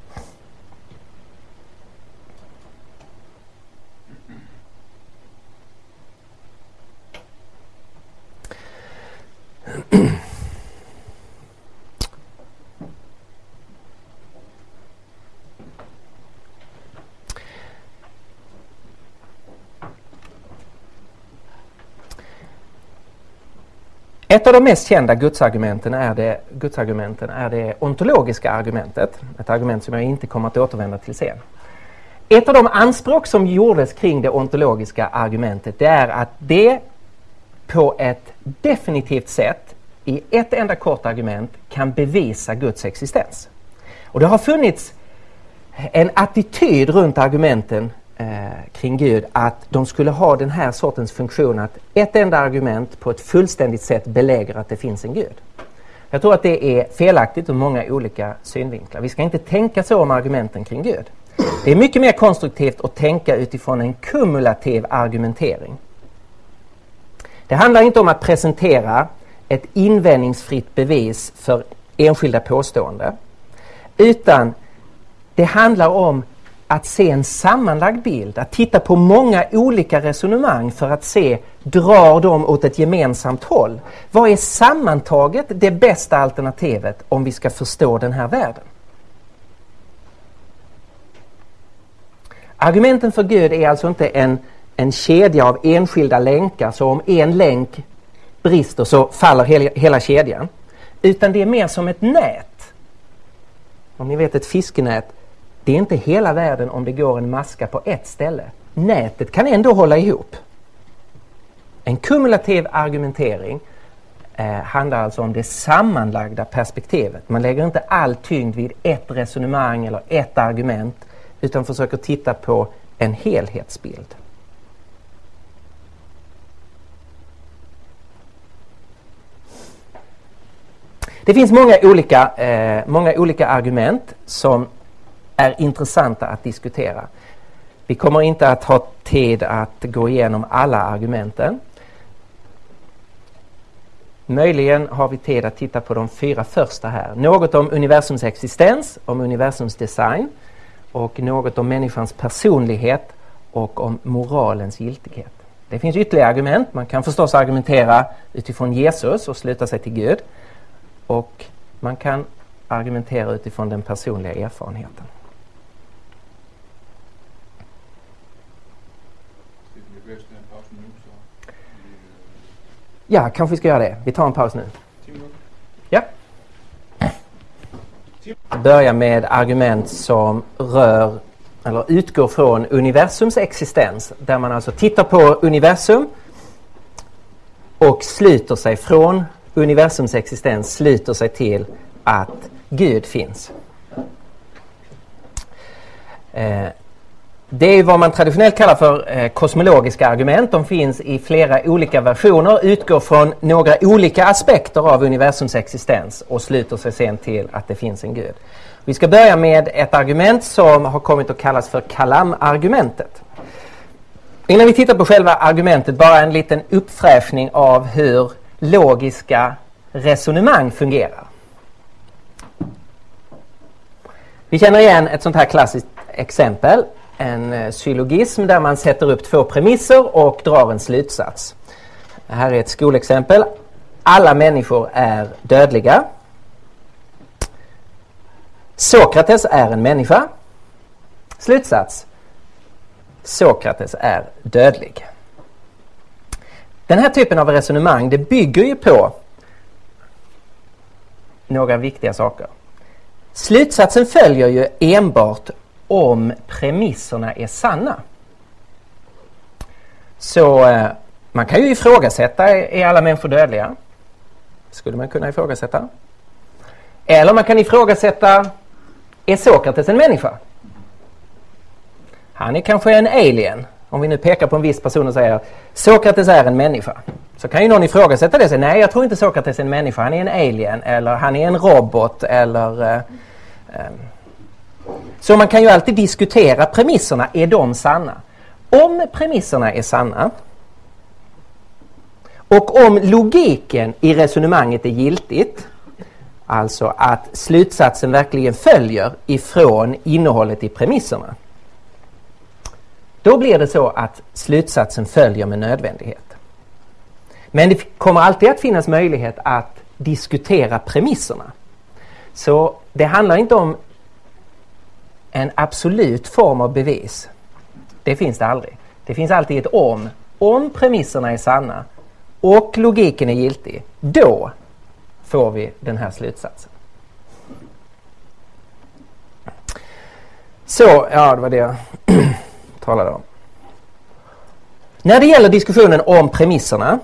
Ett av de mest kända gudsargumenten är det ontologiska argumentet. Ett argument som jag inte kommer att återvända till sen. Ett av de anspråk som gjordes kring det ontologiska argumentet, det är att det på ett definitivt sätt i ett enda kort argument kan bevisa Guds existens. Och det har funnits en attityd runt argumenten kring Gud att de skulle ha den här sortens funktion att ett enda argument på ett fullständigt sätt belägger att det finns en Gud. Jag tror att det är felaktigt ur många olika synvinklar. Vi ska inte tänka så om argumenten kring Gud. Det är mycket mer konstruktivt att tänka utifrån en kumulativ argumentering. Det handlar inte om att presentera ett invändningsfritt bevis för enskilda påståenden, utan det handlar om att se en sammanlagd bild, att titta på många olika resonemang för att se, drar de åt ett gemensamt håll? Vad är sammantaget det bästa alternativet om vi ska förstå den här världen? Argumenten för Gud är alltså inte en kedja av enskilda länkar, så om en länk brister så faller hela kedjan. Utan det är mer som ett nät. Om ni vet ett fiskenät, det är inte hela världen om det går en maska på ett ställe. Nätet kan ändå hålla ihop. En kumulativ argumentering handlar alltså om det sammanlagda perspektivet. Man lägger inte all tyngd vid ett resonemang eller ett argument, utan försöker titta på en helhetsbild. Det finns många olika argument som är intressanta att diskutera. Vi kommer inte att ha tid att gå igenom alla argumenten. Möjligen har vi tid att titta på de 4 första här. Något om universums existens, om universums design och något om människans personlighet och om moralens giltighet. Det finns ytterligare argument. Man kan förstås argumentera utifrån Jesus och sluta sig till Gud. Och man kan argumentera utifrån den personliga erfarenheten. Ja, kanske vi ska göra det. Vi tar en paus nu. Ja. Börja med argument som rör eller utgår från universums existens, där man alltså tittar på universum och sluter sig från universums existens, sluter sig till att Gud finns. Det är vad man traditionellt kallar för kosmologiska argument. De finns i flera olika versioner, utgår från några olika aspekter av universums existens och sluter sig sen till att det finns en Gud. Vi ska börja med ett argument som har kommit att kallas för Kalam-argumentet. Innan vi tittar på själva argumentet, bara en liten uppfräschning av hur logiska resonemang fungerar. Vi känner igen ett sånt här klassiskt exempel, en syllogism där man sätter upp två premisser och drar en slutsats. Det här är ett skolexempel. Alla människor är dödliga. Sokrates är en människa. Slutsats: Sokrates är dödlig. Den här typen av resonemang, det bygger ju på några viktiga saker. Slutsatsen följer ju enbart om premisserna är sanna. Så man kan ju ifrågasätta, är alla människor dödliga? Skulle man kunna ifrågasätta. Eller man kan ifrågasätta, är Sokrates en människa? Han är kanske en alien. Om vi nu pekar på en viss person och säger Sokrates är en människa, så kan ju någon ifrågasätta det och säga nej, jag tror inte Sokrates är en människa, han är en alien, eller han är en robot, eller så man kan ju alltid diskutera premisserna, är de sanna? Om premisserna är sanna och om logiken i resonemanget är giltigt, alltså att slutsatsen verkligen följer ifrån innehållet i premisserna, då blir det så att slutsatsen följer med nödvändighet. Men det kommer alltid att finnas möjlighet att diskutera premisserna. Så det handlar inte om en absolut form av bevis. Det finns det aldrig. Det finns alltid ett om. Om premisserna är sanna och logiken är giltig, då får vi den här slutsatsen. Så, ja, det var det jag talade om. När det gäller diskussionen om premisserna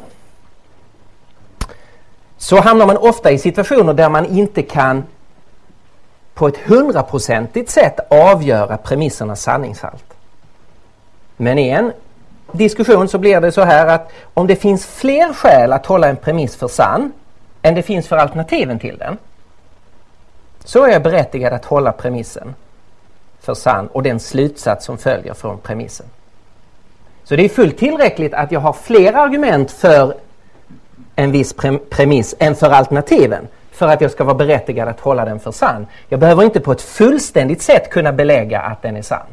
så hamnar man ofta i situationer där man inte kan på ett 100% sätt avgöra premissernas sanningshalt. Men i en diskussion så blir det så här att om det finns fler skäl att hålla en premiss för sann än det finns för alternativen till den, så är jag berättigad att hålla premissen för sann och den slutsats som följer från premissen. Så det är fullt tillräckligt att jag har fler argument för en viss premiss än för alternativen för att jag ska vara berättigad att hålla den för sann. Jag behöver inte på ett fullständigt sätt kunna belägga att den är sann.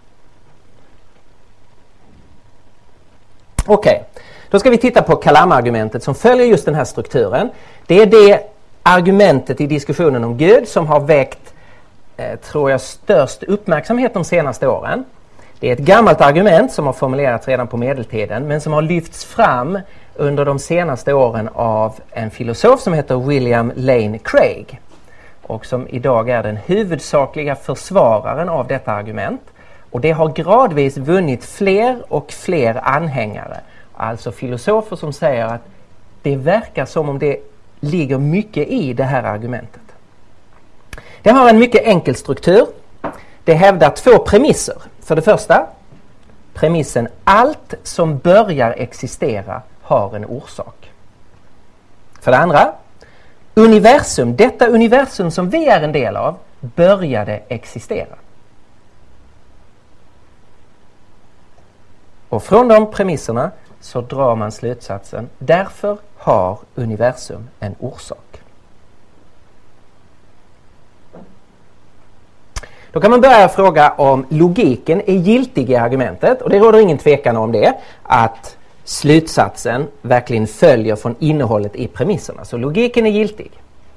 Okej, då ska vi titta på Kalam-argumentet som följer just den här strukturen. Det är det argumentet i diskussionen om Gud som har väckt, tror jag, störst uppmärksamhet de senaste åren. Det är ett gammalt argument som har formulerats redan på medeltiden men som har lyfts fram under de senaste åren av en filosof som heter William Lane Craig och som idag är den huvudsakliga försvararen av detta argument. Och det har gradvis vunnit fler och fler anhängare. Alltså filosofer som säger att det verkar som om det ligger mycket i det här argumentet. Det har en mycket enkel struktur. Det hävdar två premisser. För det första, premissen allt som börjar existera har en orsak. För det andra, universum, detta universum som vi är en del av, började existera. Och från de premisserna så drar man slutsatsen, därför har universum en orsak. Då kan man börja fråga om logiken är giltig i argumentet, och det råder ingen tvekan om det, att slutsatsen verkligen följer från innehållet i premisserna. Så logiken är giltig.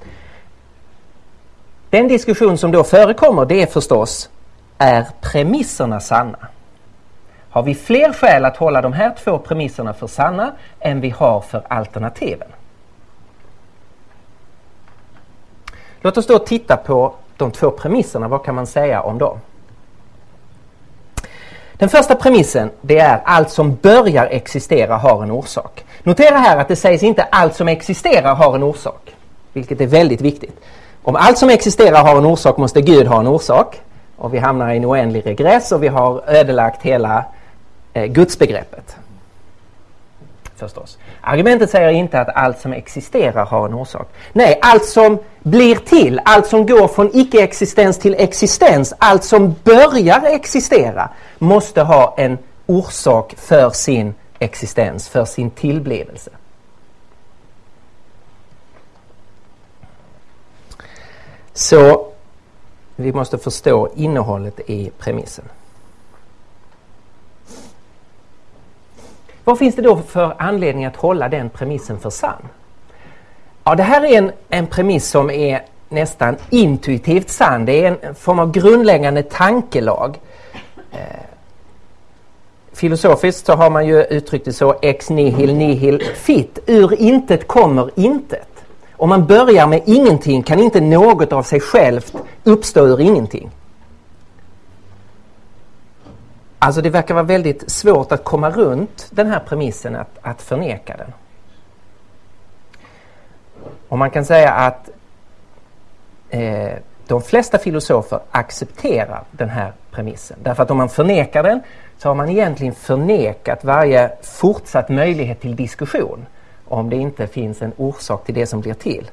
Den diskussion som då förekommer, det är förstås, är premisserna sanna? Har vi fler skäl att hålla de här två premisserna för sanna än vi har för alternativen? Låt oss då titta på de två premisserna. Vad kan man säga om dem? Den första premissen, det är allt som börjar existera har en orsak. Notera här att det sägs inte allt som existerar har en orsak, vilket är väldigt viktigt. Om allt som existerar har en orsak måste Gud ha en orsak. Och vi hamnar i en oändlig regress och vi har ödelagt hela gudsbegreppet. Förstås. Argumentet säger inte att allt som existerar har en orsak. Nej, allt som blir till, allt som går från icke-existens till existens, allt som börjar existera måste ha en orsak för sin existens, för sin tillblivelse. Så vi måste förstå innehållet i premissen. Vad finns det då för anledning att hålla den premissen för sann? Ja, det här är en premiss som är nästan intuitivt sann. Det är en form av grundläggande tankelag. Filosofiskt så har man ju uttryckt det så: ex nihil nihil fit. Ur intet kommer intet. Om man börjar med ingenting kan inte något av sig självt uppstå ur ingenting. Alltså det verkar vara väldigt svårt att komma runt den här premissen, att förneka den. Och man kan säga att de flesta filosofer accepterar den här premissen. Därför att om man förnekar den så har man egentligen förnekat varje fortsatt möjlighet till diskussion om det inte finns en orsak till det som blir till.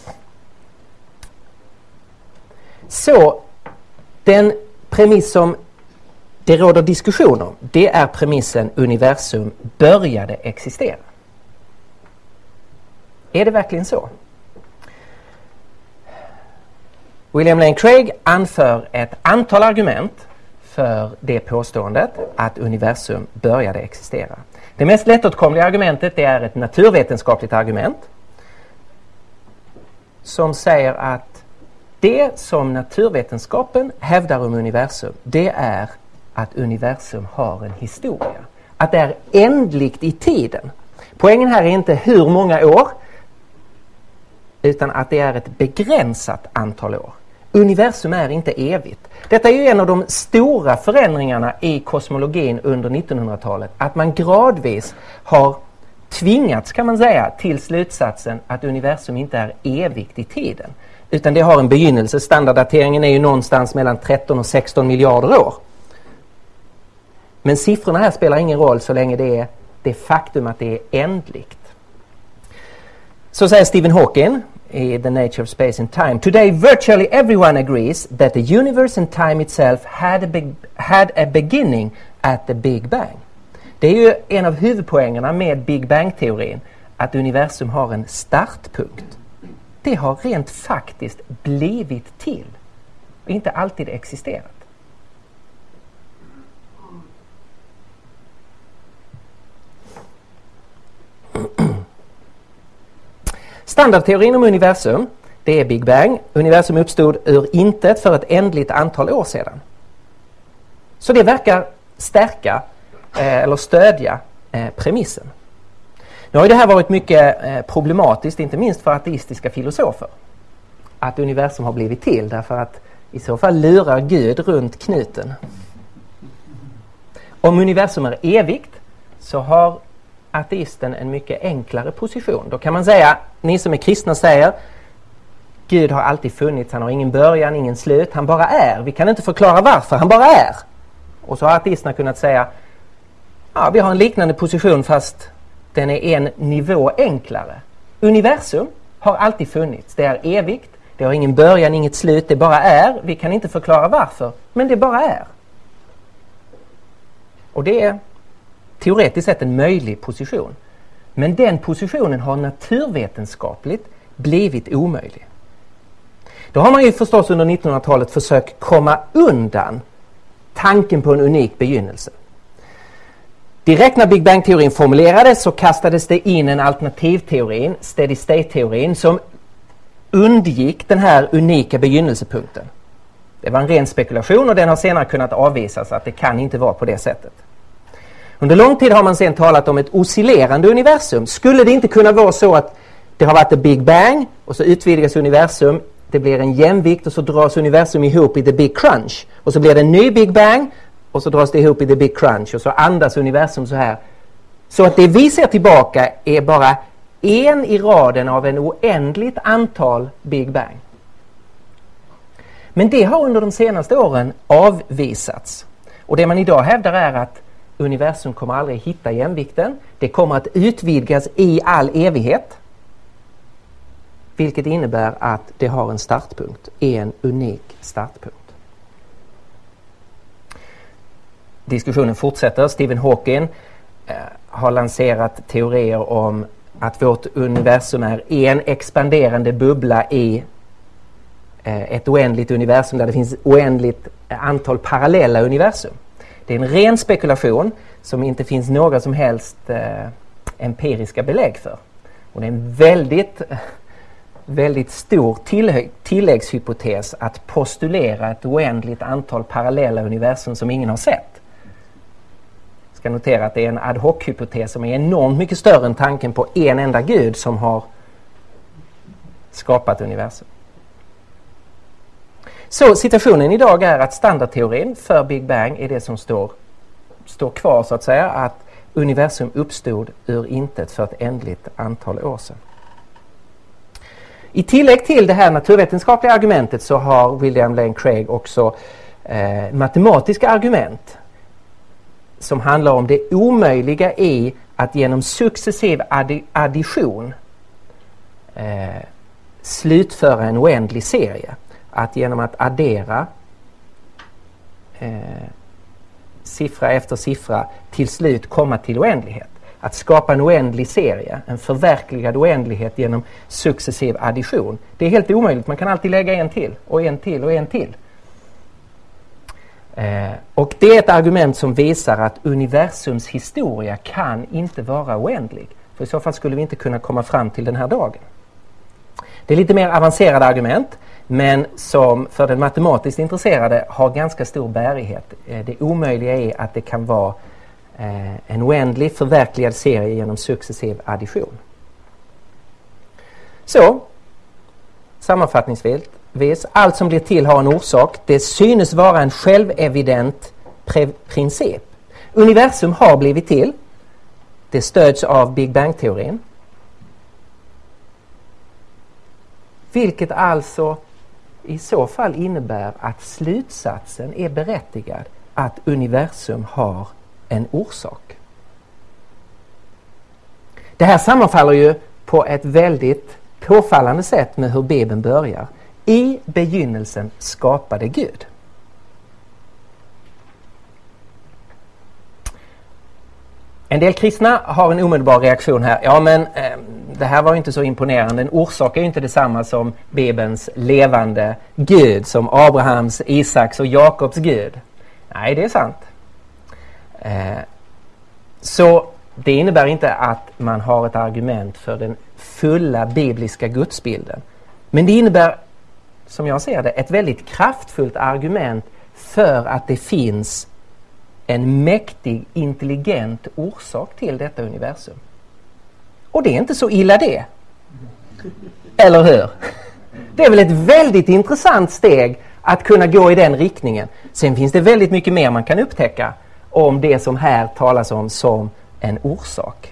Så den premiss som det råder diskussion om, det är premissen universum började existera. Är det verkligen så? William Lane Craig anför ett antal argument för det påståendet att universum började existera. Det mest lättåtkomliga argumentet, det är ett naturvetenskapligt argument som säger att det som naturvetenskapen hävdar om universum, det är att universum har en historia. Att det är ändligt i tiden. Poängen här är inte hur många år, utan att det är ett begränsat antal år. Universum är inte evigt. Detta är ju en av de stora förändringarna i kosmologin under 1900-talet. Att man gradvis har tvingats, kan man säga, till slutsatsen att universum inte är evigt i tiden. Utan det har en begynnelse. Standarddateringen är ju någonstans mellan 13 och 16 miljarder år. Men siffrorna här spelar ingen roll så länge det är det faktum att det är ändligt. Så säger Stephen Hawking i The Nature of Space and Time: Today virtually everyone agrees that the universe and time itself had a beginning at the Big Bang. Det är ju en av huvudpoängerna med Big Bang-teorin, att universum har en startpunkt. Det har rent faktiskt blivit till och inte alltid existerat. Standardteorin om universum, det är Big Bang. Universum uppstod ur intet för ett ändligt antal år sedan. Så det verkar stärka eller stödja premissen. Nu har ju det här varit mycket problematiskt, inte minst för ateistiska filosofer. Att universum har blivit till, därför att i så fall lurar Gud runt knuten. Om universum är evigt så har ateisten en mycket enklare position. Då kan man säga, ni som är kristna säger, Gud har alltid funnits, han har ingen början, ingen slut, han bara är. Vi kan inte förklara varför, han bara är. Och så har ateisterna kunnat säga, ja, vi har en liknande position fast den är en nivå enklare. Universum har alltid funnits, det är evigt, det har ingen början, inget slut, det bara är. Vi kan inte förklara varför, men det bara är. Och det är teoretiskt sett en möjlig position. Men den positionen har naturvetenskapligt blivit omöjlig. Då har man ju förstås under 1900-talet försökt komma undan tanken på en unik begynnelse. Direkt när Big Bang-teorin formulerades så kastades det in en alternativteorin, steady state-teorin, som undgick den här unika begynnelsepunkten. Det var en ren spekulation och den har senare kunnat avvisas att det kan inte vara på det sättet. Under lång tid har man sedan talat om ett oscillerande universum. Skulle det inte kunna vara så att det har varit ett Big Bang och så utvidgas universum, det blir en jämvikt och så dras universum ihop i the Big Crunch. Och så blir det en ny Big Bang och så dras det ihop i the big crunch och så andas universum så här. Så att det vi ser tillbaka är bara en i raden av en oändligt antal Big Bang. Men det har under de senaste åren avvisats. Och det man idag hävdar är att universum kommer aldrig hitta jämvikten. Det kommer att utvidgas i all evighet. Vilket innebär att det har en startpunkt. En unik startpunkt. Diskussionen fortsätter. Stephen Hawking har lanserat teorier om att vårt universum är en expanderande bubbla i ett oändligt universum där det finns oändligt antal parallella universum. Det är en ren spekulation som inte finns några som helst empiriska belägg för. Och det är en väldigt stor tilläggshypotes att postulera ett oändligt antal parallella universum som ingen har sett. Jag ska notera att det är en ad hoc-hypotes som är enormt mycket större än tanken på en enda gud som har skapat universum. Så situationen idag är att standardteorin för Big Bang är det som står kvar så att säga, att universum uppstod ur intet för ett ändligt antal år sedan. I tillägg till det här naturvetenskapliga argumentet så har William Lane Craig också matematiska argument som handlar om det omöjliga i att genom successiv addition slutföra en oändlig serie. Att genom att addera siffra efter siffra till slut komma till oändlighet. Att skapa en oändlig serie, en förverkligad oändlighet genom successiv addition. Det är helt omöjligt, man kan alltid lägga en till och en till och en till. Och det är ett argument som visar att universums historia kan inte vara oändlig. För i så fall skulle vi inte kunna komma fram till den här dagen. Det är lite mer avancerade argument, men som för den matematiskt intresserade har ganska stor bärighet. Det omöjliga är att det kan vara en oändlig förverkligad serie genom successiv addition. Så, sammanfattningsvis, allt som blir till har en orsak. Det synes vara en självevident princip. Universum har blivit till. Det stöds av Big Bang-teorin. Vilket alltså i så fall innebär att slutsatsen är berättigad att universum har en orsak. Det här sammanfaller ju på ett väldigt påfallande sätt med hur Bibeln börjar. I begynnelsen skapade Gud. En del kristna har en omedelbar reaktion här. Ja, men det här var ju inte så imponerande. En orsak är ju inte detsamma som Bibelns levande Gud, som Abrahams, Isaks och Jakobs Gud. Nej, det är sant. Så det innebär inte att man har ett argument för den fulla bibliska gudsbilden. Men det innebär, som jag ser det, ett väldigt kraftfullt argument för att det finns en mäktig, intelligent orsak till detta universum. Och det är inte så illa det. Eller hur? Det är väl ett väldigt intressant steg att kunna gå i den riktningen. Sen finns det väldigt mycket mer man kan upptäcka om det som här talas om som en orsak.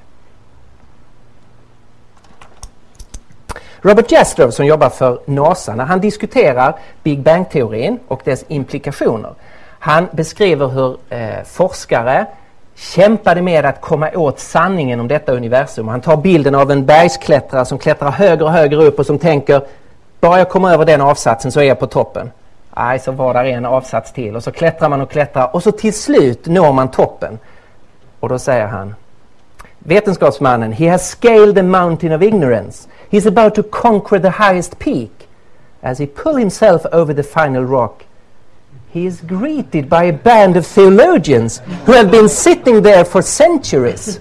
Robert Jastrow, som jobbar för NASA, när han diskuterar Big Bang-teorin och dess implikationer, han beskriver hur forskare kämpade med att komma åt sanningen om detta universum. Han tar bilden av en bergsklättrare som klättrar högre och högre upp och som tänker, bara jag kommer över den avsatsen så är jag på toppen. Nej, så var där en avsats till. Och så klättrar man och klättrar och så till slut når man toppen. Och då säger han, vetenskapsmannen, he has scaled the mountain of ignorance. He's about to conquer the highest peak. As he pull himself over the final rock, he is greeted by a band of theologians who have been sitting there for centuries.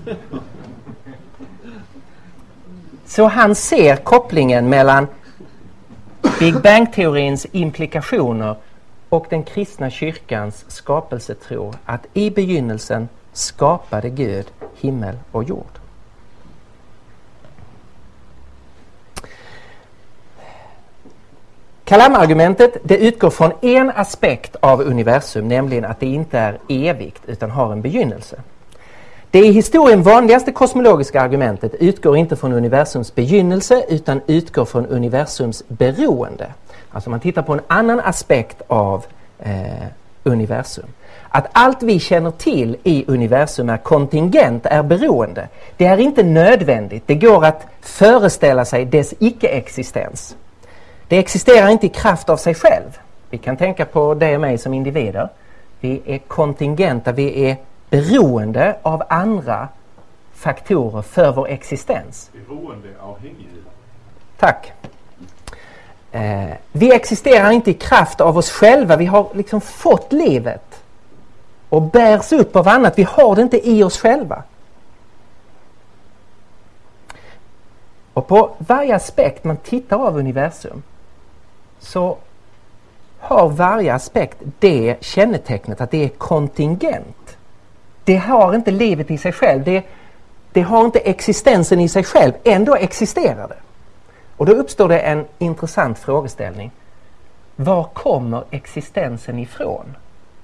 Så han ser kopplingen mellan Big Bang-teorins implikationer och den kristna kyrkans skapelsetro, att i begynnelsen skapade Gud himmel och jord. Kalam-argumentet, det utgår från en aspekt av universum, nämligen att det inte är evigt utan har en begynnelse. Det i historien vanligaste kosmologiska argumentet utgår inte från universums begynnelse utan utgår från universums beroende. Alltså man tittar på en annan aspekt av universum. Att allt vi känner till i universum är kontingent, är beroende. Det är inte nödvändigt. Det går att föreställa sig dess icke-existens. Det existerar inte i kraft av sig själv. Vi kan tänka på dig och mig som individer. Vi är kontingenta, vi är beroende av andra faktorer för vår existens. Beroendeavhängighet. Tack. Vi existerar inte i kraft av oss själva. Vi har liksom fått livet och bärs upp av annat. Vi har det inte i oss själva. Och på varje aspekt man tittar av universum så har varje aspekt det kännetecknet att det är kontingent. Det har inte livet i sig själv. Det har inte existensen i sig själv. Ändå existerar det. Och då uppstår det en intressant frågeställning. Var kommer existensen ifrån?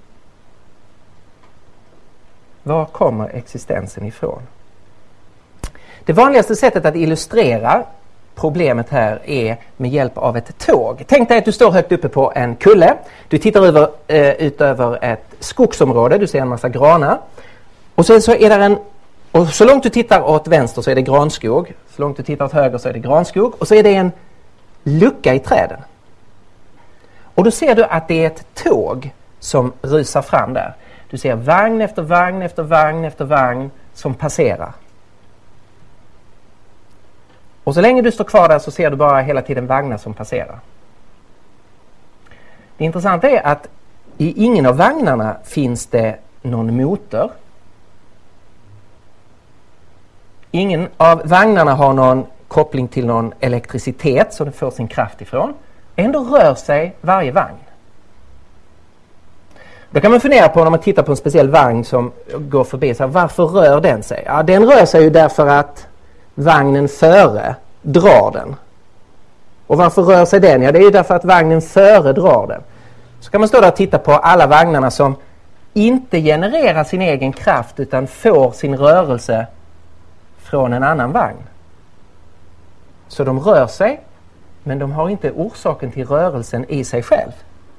Var kommer existensen ifrån? Det vanligaste sättet att illustrera problemet här är med hjälp av ett tåg. Tänk dig att du står högt uppe på en kulle. Du tittar ut över ett skogsområde. Du ser en massa granar. Och så är där och så långt du tittar åt vänster så är det granskog. Så långt du tittar åt höger så är det granskog. Och så är det en lucka i träden. Och då ser du att det är ett tåg som rusar fram där. Du ser vagn efter vagn efter vagn efter vagn som passerar. Och så länge du står kvar där så ser du bara hela tiden vagnar som passerar. Det intressanta är att i ingen av vagnarna finns det någon motor. Ingen av vagnarna har någon koppling till någon elektricitet så den får sin kraft ifrån. Ändå rör sig varje vagn. Då kan man fundera på när man tittar på en speciell vagn som går förbi. Så här, varför rör den sig? Ja, den rör sig ju därför att vagnen före drar den. Och varför rör sig den? Ja, det är ju därför att vagnen före drar den. Så kan man stå där och titta på alla vagnarna som inte genererar sin egen kraft utan får sin rörelse från en annan vagn. Så de rör sig, men de har inte orsaken till rörelsen i sig själv.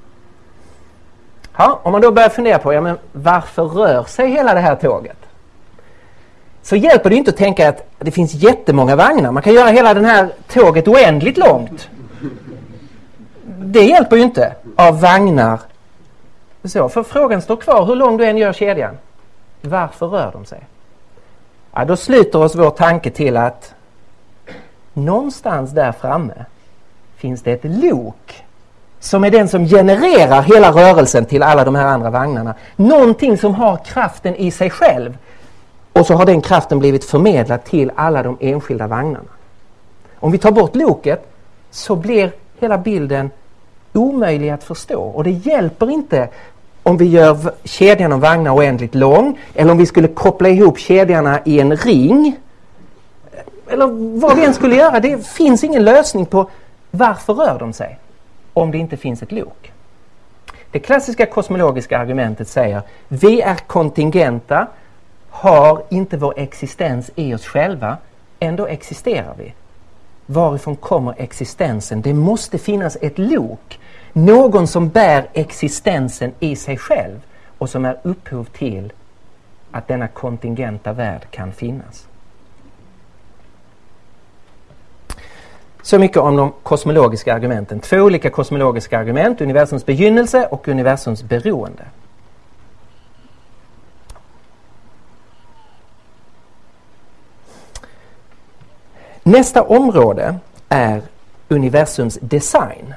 Ja, om man då börjar fundera på men varför rör sig hela det här tåget? Så hjälper det inte att tänka att det finns jättemånga vagnar. Man kan göra hela det här tåget oändligt långt. Det hjälper ju inte av vagnar. Så, för frågan står kvar, hur lång du än gör kedjan. Varför rör de sig? Ja, då sluter oss vår tanke till att någonstans där framme finns det ett lok som är den som genererar hela rörelsen till alla de här andra vagnarna. Någonting som har kraften i sig själv. Och så har den kraften blivit förmedlad till alla de enskilda vagnarna. Om vi tar bort loket så blir hela bilden omöjlig att förstå. Och det hjälper inte om vi gör kedjan av vagnar oändligt lång. Eller om vi skulle koppla ihop kedjarna i en ring. Eller vad vi än skulle göra. Det finns ingen lösning på varför rör de sig. Om det inte finns ett lok. Det klassiska kosmologiska argumentet säger vi är kontingenta, har inte vår existens i oss själva, ändå existerar vi. Varifrån kommer existensen? Det måste finnas ett lok. Någon som bär existensen i sig själv och som är upphov till att denna kontingenta värld kan finnas. Så mycket om de kosmologiska argumenten. 2 olika kosmologiska argument, universums begynnelse och universums beroende. Nästa område är universums design.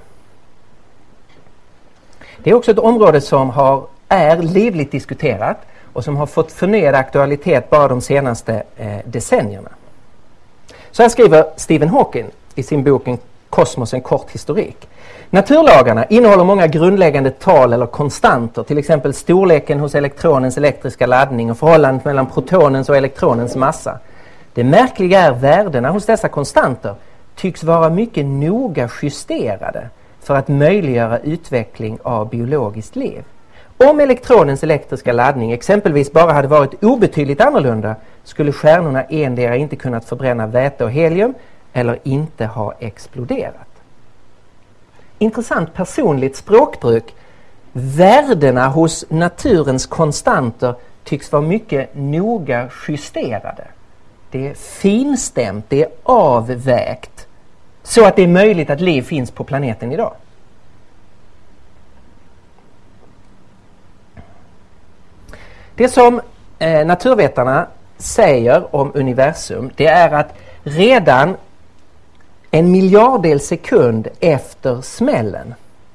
Det är också ett område som är livligt diskuterat och som har fått förnyad aktualitet bara de senaste decennierna. Så här skriver Stephen Hawking i sin bok Kosmos, en kort historik. Naturlagarna innehåller många grundläggande tal eller konstanter, till exempel storleken hos elektronens elektriska laddning och förhållandet mellan protonens och elektronens massa. Det märkliga är värdena hos dessa konstanter tycks vara mycket noga justerade för att möjliggöra utveckling av biologiskt liv. Om elektronens elektriska laddning exempelvis bara hade varit obetydligt annorlunda skulle stjärnorna endera inte kunnat förbränna väte och helium eller inte ha exploderat. Intressant personligt språkbruk. Värdena hos naturens konstanter tycks vara mycket noga justerade. Det är finstämt, det är avvägt så att det är möjligt att liv finns på planeten idag. Det som naturvetarna säger om universum, det är att redan en miljardel sekund efter smällen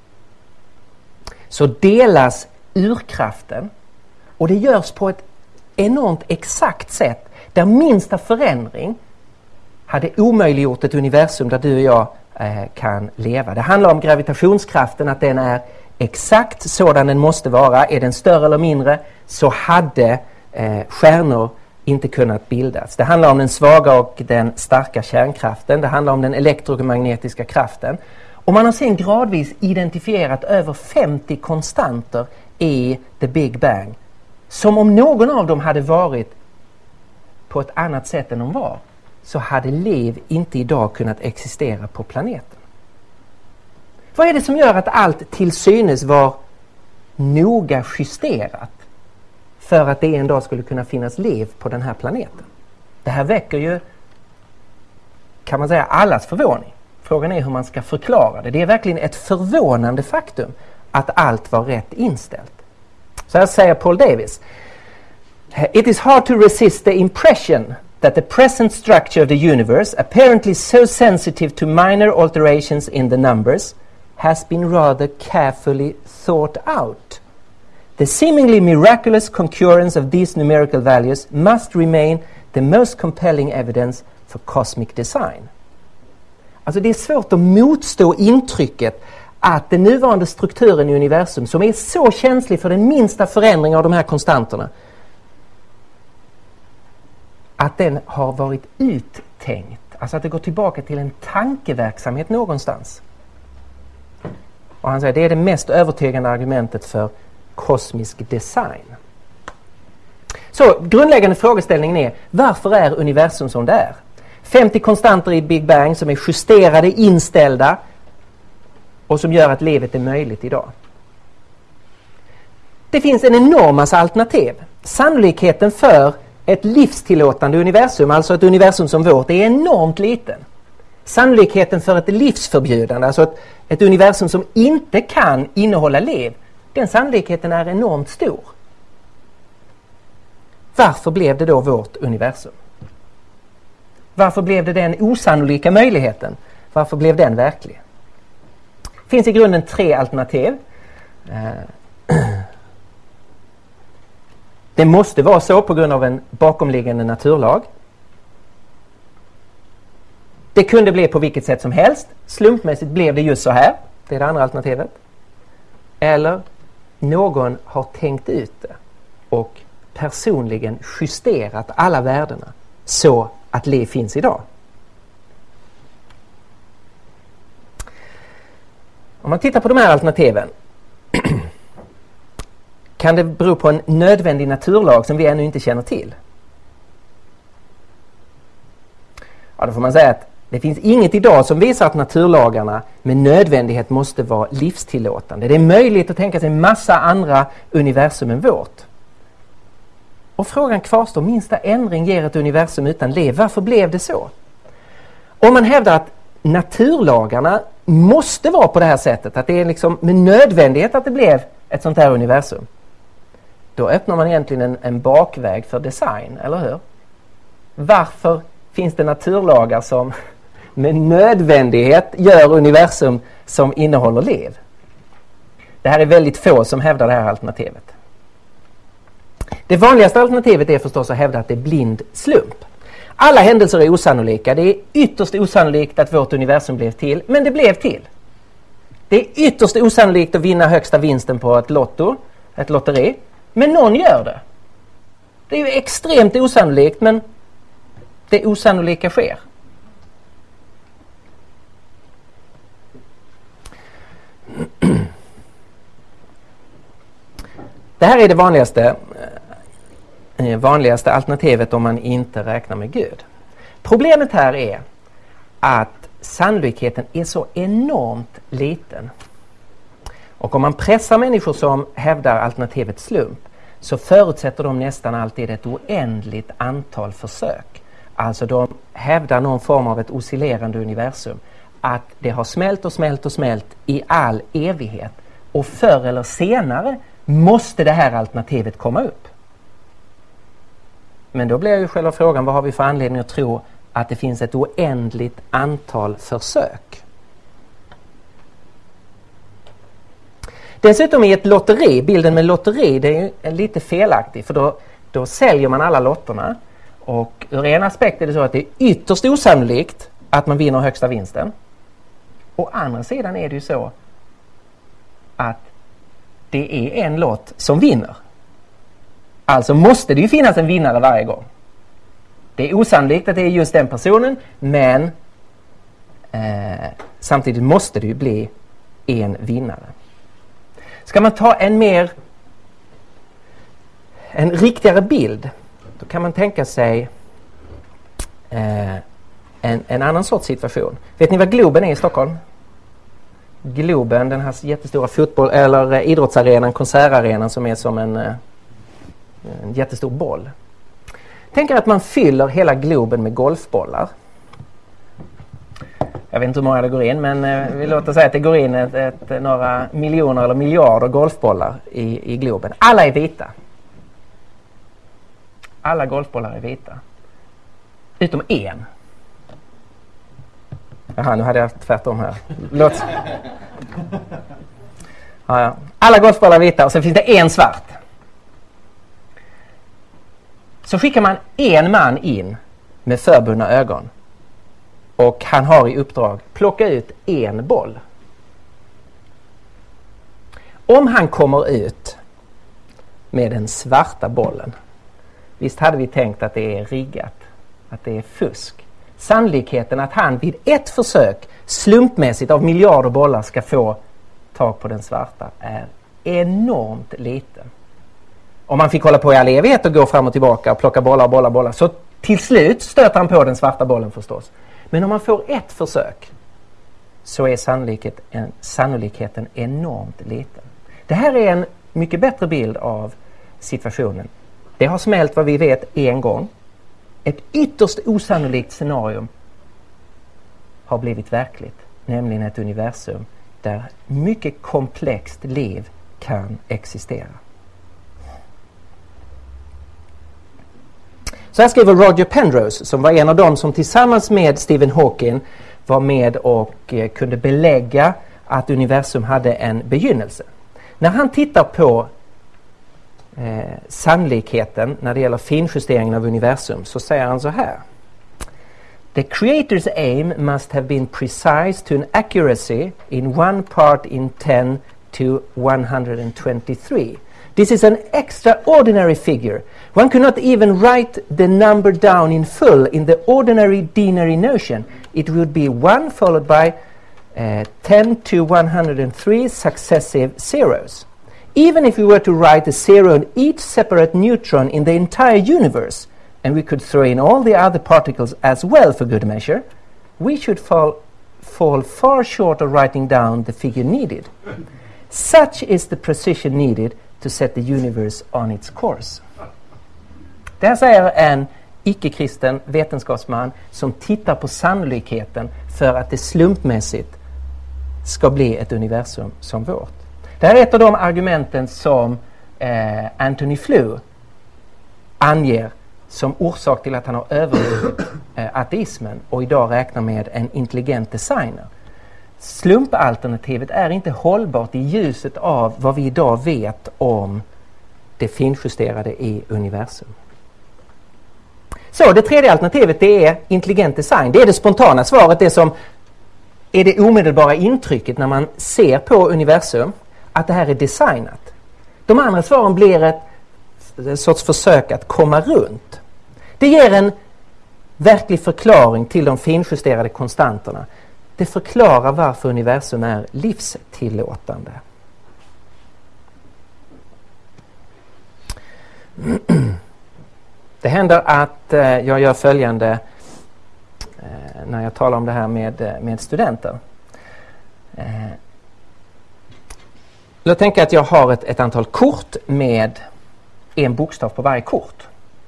så delas urkraften, och det görs på ett enormt exakt sätt där minsta förändring hade omöjliggjort ett universum där du och jag kan leva. Det handlar om gravitationskraften, att den är exakt sådan den måste vara. Är den större eller mindre så hade stjärnor inte kunnat bildas. Det handlar om den svaga och den starka kärnkraften. Det handlar om den elektromagnetiska kraften. Och man har sen gradvis identifierat över 50 konstanter i The Big Bang. Som om någon av dem hade varit på ett annat sätt än de var, så hade liv inte idag kunnat existera på planeten. Vad är det som gör att allt till synes var noga justerat för att det en dag skulle kunna finnas liv på den här planeten? Det här väcker ju, kan man säga, allas förvåning. Frågan är hur man ska förklara det. Det är verkligen ett förvånande faktum att allt var rätt inställt. Så här säger Paul Davies. It is hard to resist the impression that the present structure of the universe, apparently so sensitive to minor alterations in the numbers, has been rather carefully thought out. The seemingly miraculous concurrence of these numerical values must remain the most compelling evidence for cosmic design. Alltså det är svårt att motstå intrycket att den nuvarande strukturen i universum, som är så känslig för den minsta förändring av de här konstanterna, att den har varit uttänkt. Alltså att det går tillbaka till en tankeverksamhet någonstans. Och han säger det är det mest övertygande argumentet för kosmisk design. Så grundläggande frågeställningen är: varför är universum som det är? 50 konstanter i Big Bang som är justerade, inställda och som gör att livet är möjligt idag. Det finns en enorm massa alternativ. Sannolikheten för ett livstillåtande universum, alltså ett universum som vårt, är enormt liten. Sannolikheten för ett livsförbjudande, alltså ett universum som inte kan innehålla liv, den sannolikheten är enormt stor. Varför blev det då vårt universum? Varför blev det den osannolika möjligheten? Varför blev den verklig? Det finns i grunden 3 alternativ. Det måste vara så på grund av en bakomliggande naturlag. Det kunde bli på vilket sätt som helst. Slumpmässigt blev det just så här. Det är det andra alternativet. Eller någon har tänkt ut det och personligen justerat alla värdena så att liv finns idag. Om man tittar på de här alternativen kan det bero på en nödvändig naturlag som vi ännu inte känner till. Ja, då får man säga att det finns inget idag som visar att naturlagarna med nödvändighet måste vara livstillåtande. Det är möjligt att tänka sig en massa andra universum än vårt. Och frågan kvarstår: minsta ändring ger ett universum utan liv. Varför blev det så? Om man hävdar att naturlagarna måste vara på det här sättet, att det är liksom med nödvändighet att det blev ett sånt här universum, då öppnar man egentligen en bakväg för design, eller hur? Varför finns det naturlagar som med nödvändighet gör universum som innehåller liv? Det här är väldigt få som hävdar det här alternativet. Det vanligaste alternativet är förstås att hävda att det är blind slump. Alla händelser är osannolika. Det är ytterst osannolikt att vårt universum blev till, men det blev till. Det är ytterst osannolikt att vinna högsta vinsten på ett lotteri, men någon gör det. Det är ju extremt osannolikt, men det osannolika sker. Det här är det vanligaste alternativet om man inte räknar med Gud. Problemet här är att sannolikheten är så enormt liten. Och om man pressar människor som hävdar alternativet slump så förutsätter de nästan alltid ett oändligt antal försök. Alltså de hävdar någon form av ett oscillerande universum. Att det har smält och smält och smält i all evighet. Och förr eller senare måste det här alternativet komma upp. Men då blir ju själva frågan, vad har vi för anledning att tro att det finns ett oändligt antal försök? Dessutom är ett lotteri, bilden med lotteri, det är lite felaktig. För då säljer man alla lotterna. Och ur en aspekt är det så att det är ytterst osannolikt att man vinner högsta vinsten. Å andra sidan är det ju så att det är en lott som vinner. Alltså måste det ju finnas en vinnare varje gång. Det är osannolikt att det är just den personen, men samtidigt måste det ju bli en vinnare. Ska man ta en riktigare bild, då kan man tänka sig en annan sorts situation. Vet ni vad Globen är i Stockholm? Globen, den här jättestora fotboll- eller idrottsarenan, konsertarenan som är som en jättestor boll. Tänk er att man fyller hela Globen med golfbollar. Jag vet inte hur många det går in, men vi låter säga att det går in några miljoner eller miljarder golfbollar i Globen. Alla är vita. Alla golfbollar är vita. Utom en. Jaha, nu hade jag tvärtom här. Ja. Alla golfbollar är vita och så finns det en svart. Så skickar man en man in med förbundna ögon. Och han har i uppdrag plocka ut en boll. Om han kommer ut med den svarta bollen. Visst hade vi tänkt att det är riggat. Att det är fusk. Sannolikheten att han vid ett försök slumpmässigt av miljarder bollar ska få tag på den svarta är enormt liten. Om man fick hålla på i all evighet och gå fram och tillbaka och plocka bollar så till slut stöter han på den svarta bollen förstås. Men om man får ett försök så är sannolikheten enormt liten. Det här är en mycket bättre bild av situationen. Det har smält vad vi vet en gång. Ett ytterst osannolikt scenario har blivit verkligt. Nämligen ett universum där mycket komplext liv kan existera. Så här skriver Roger Penrose, som var en av dem som tillsammans med Stephen Hawking var med och kunde belägga att universum hade en begynnelse. När han tittar på sannolikheten när det gäller finjusteringen av universum så säger han så här. The creator's aim must have been precise to an accuracy in 1 part in 10 to 123. This is an extraordinary figure. One could not even write the number down in full in the ordinary denary notion. It would be 1 followed by 10 to 103 successive zeros. Even if we were to write a zero in each separate neutron in the entire universe, and we could throw in all the other particles as well for good measure, we should fall far short of writing down the figure needed. Such is the precision needed to set the universe on its course. Det här säger en icke-kristen vetenskapsman som tittar på sannolikheten för att det slumpmässigt ska bli ett universum som vårt. Det här är ett av de argumenten som Antony Flew anger som orsak till att han har övervunnit ateismen och idag räknar med en intelligent designer. Slumpalternativet är inte hållbart i ljuset av vad vi idag vet om det finjusterade i universum. Så det tredje alternativet, det är intelligent design. Det är det spontana svaret, det som är det omedelbara intrycket när man ser på universum, att det här är designat. De andra svaren blir ett sorts försök att komma runt. Det ger en verklig förklaring till de finjusterade konstanterna. Det förklarar varför universum är livstillåtande. Det händer att jag gör följande när jag talar om det här med studenter. Jag tänker att jag har ett antal kort med en bokstav på varje kort.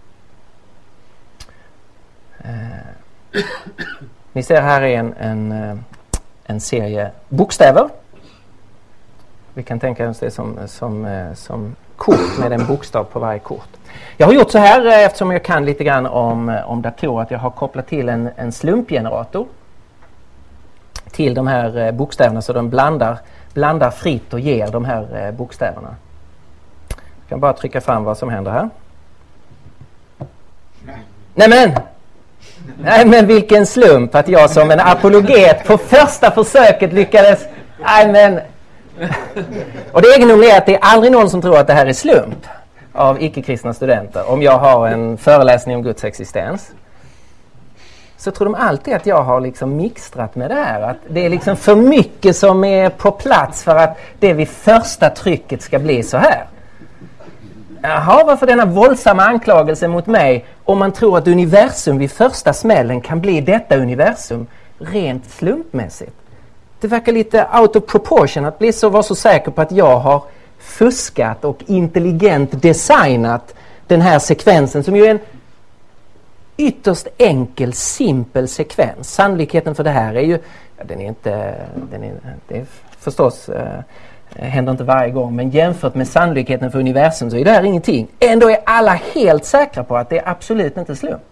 Ni ser här är en serie bokstäver. Vi kan tänka oss det som kort med en bokstav på varje kort. Jag har gjort så här eftersom jag kan lite grann om datorer, att jag har kopplat till en slumpgenerator till de här bokstäverna, så de blandar fritt och ger de här bokstäverna. Jag kan bara trycka fram vad som händer här. Nej men vilken slump att jag som en apologet på första försöket lyckades. Och det egendomliga är att det är aldrig någon som tror att det här är slump av icke-kristna studenter. Om jag har en föreläsning om Guds existens, så tror de alltid att jag har liksom mixtrat med det här. Att det är liksom för mycket som är på plats för att det vid första trycket ska bli så här. Jaha, varför denna våldsamma anklagelse mot mig om man tror att universum vid första smällen kan bli detta universum rent slumpmässigt? Det verkar lite out of proportion att vara så säker på att jag har fuskat och intelligent designat den här sekvensen, som ju är en ytterst enkel, simpel sekvens. Sannolikheten för det här är ju, det är förstås händer inte varje gång, men jämfört med sannolikheten för universum så är det här ingenting. Ändå är alla helt säkra på att det är absolut inte slump.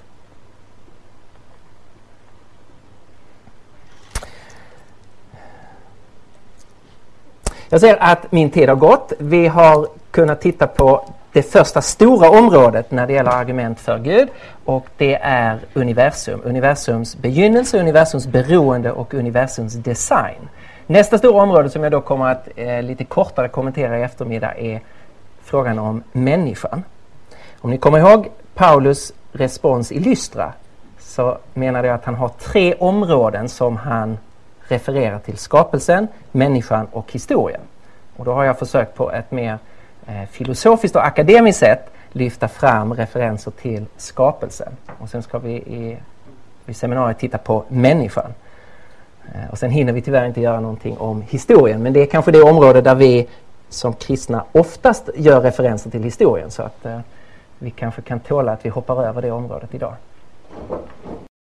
Jag ser att min tid har gått. Vi har kunnat titta på det första stora området när det gäller argument för Gud, och det är universum. Universums begynnelse, universums beroende och universums design. Nästa stora område som jag då kommer att lite kortare kommentera i eftermiddag är frågan om människan. Om ni kommer ihåg Paulus respons i Lystra, så menade jag att han har 3 områden som han refererar till: skapelsen, människan och historien. Och då har jag försökt på ett mer filosofiskt och akademiskt sätt lyfta fram referenser till skapelsen. Och sen ska vi i seminariet titta på människan. Och sen hinner vi tyvärr inte göra någonting om historien, men det är kanske det område där vi som kristna oftast gör referenser till historien, så att vi kanske kan tåla att vi hoppar över det området idag.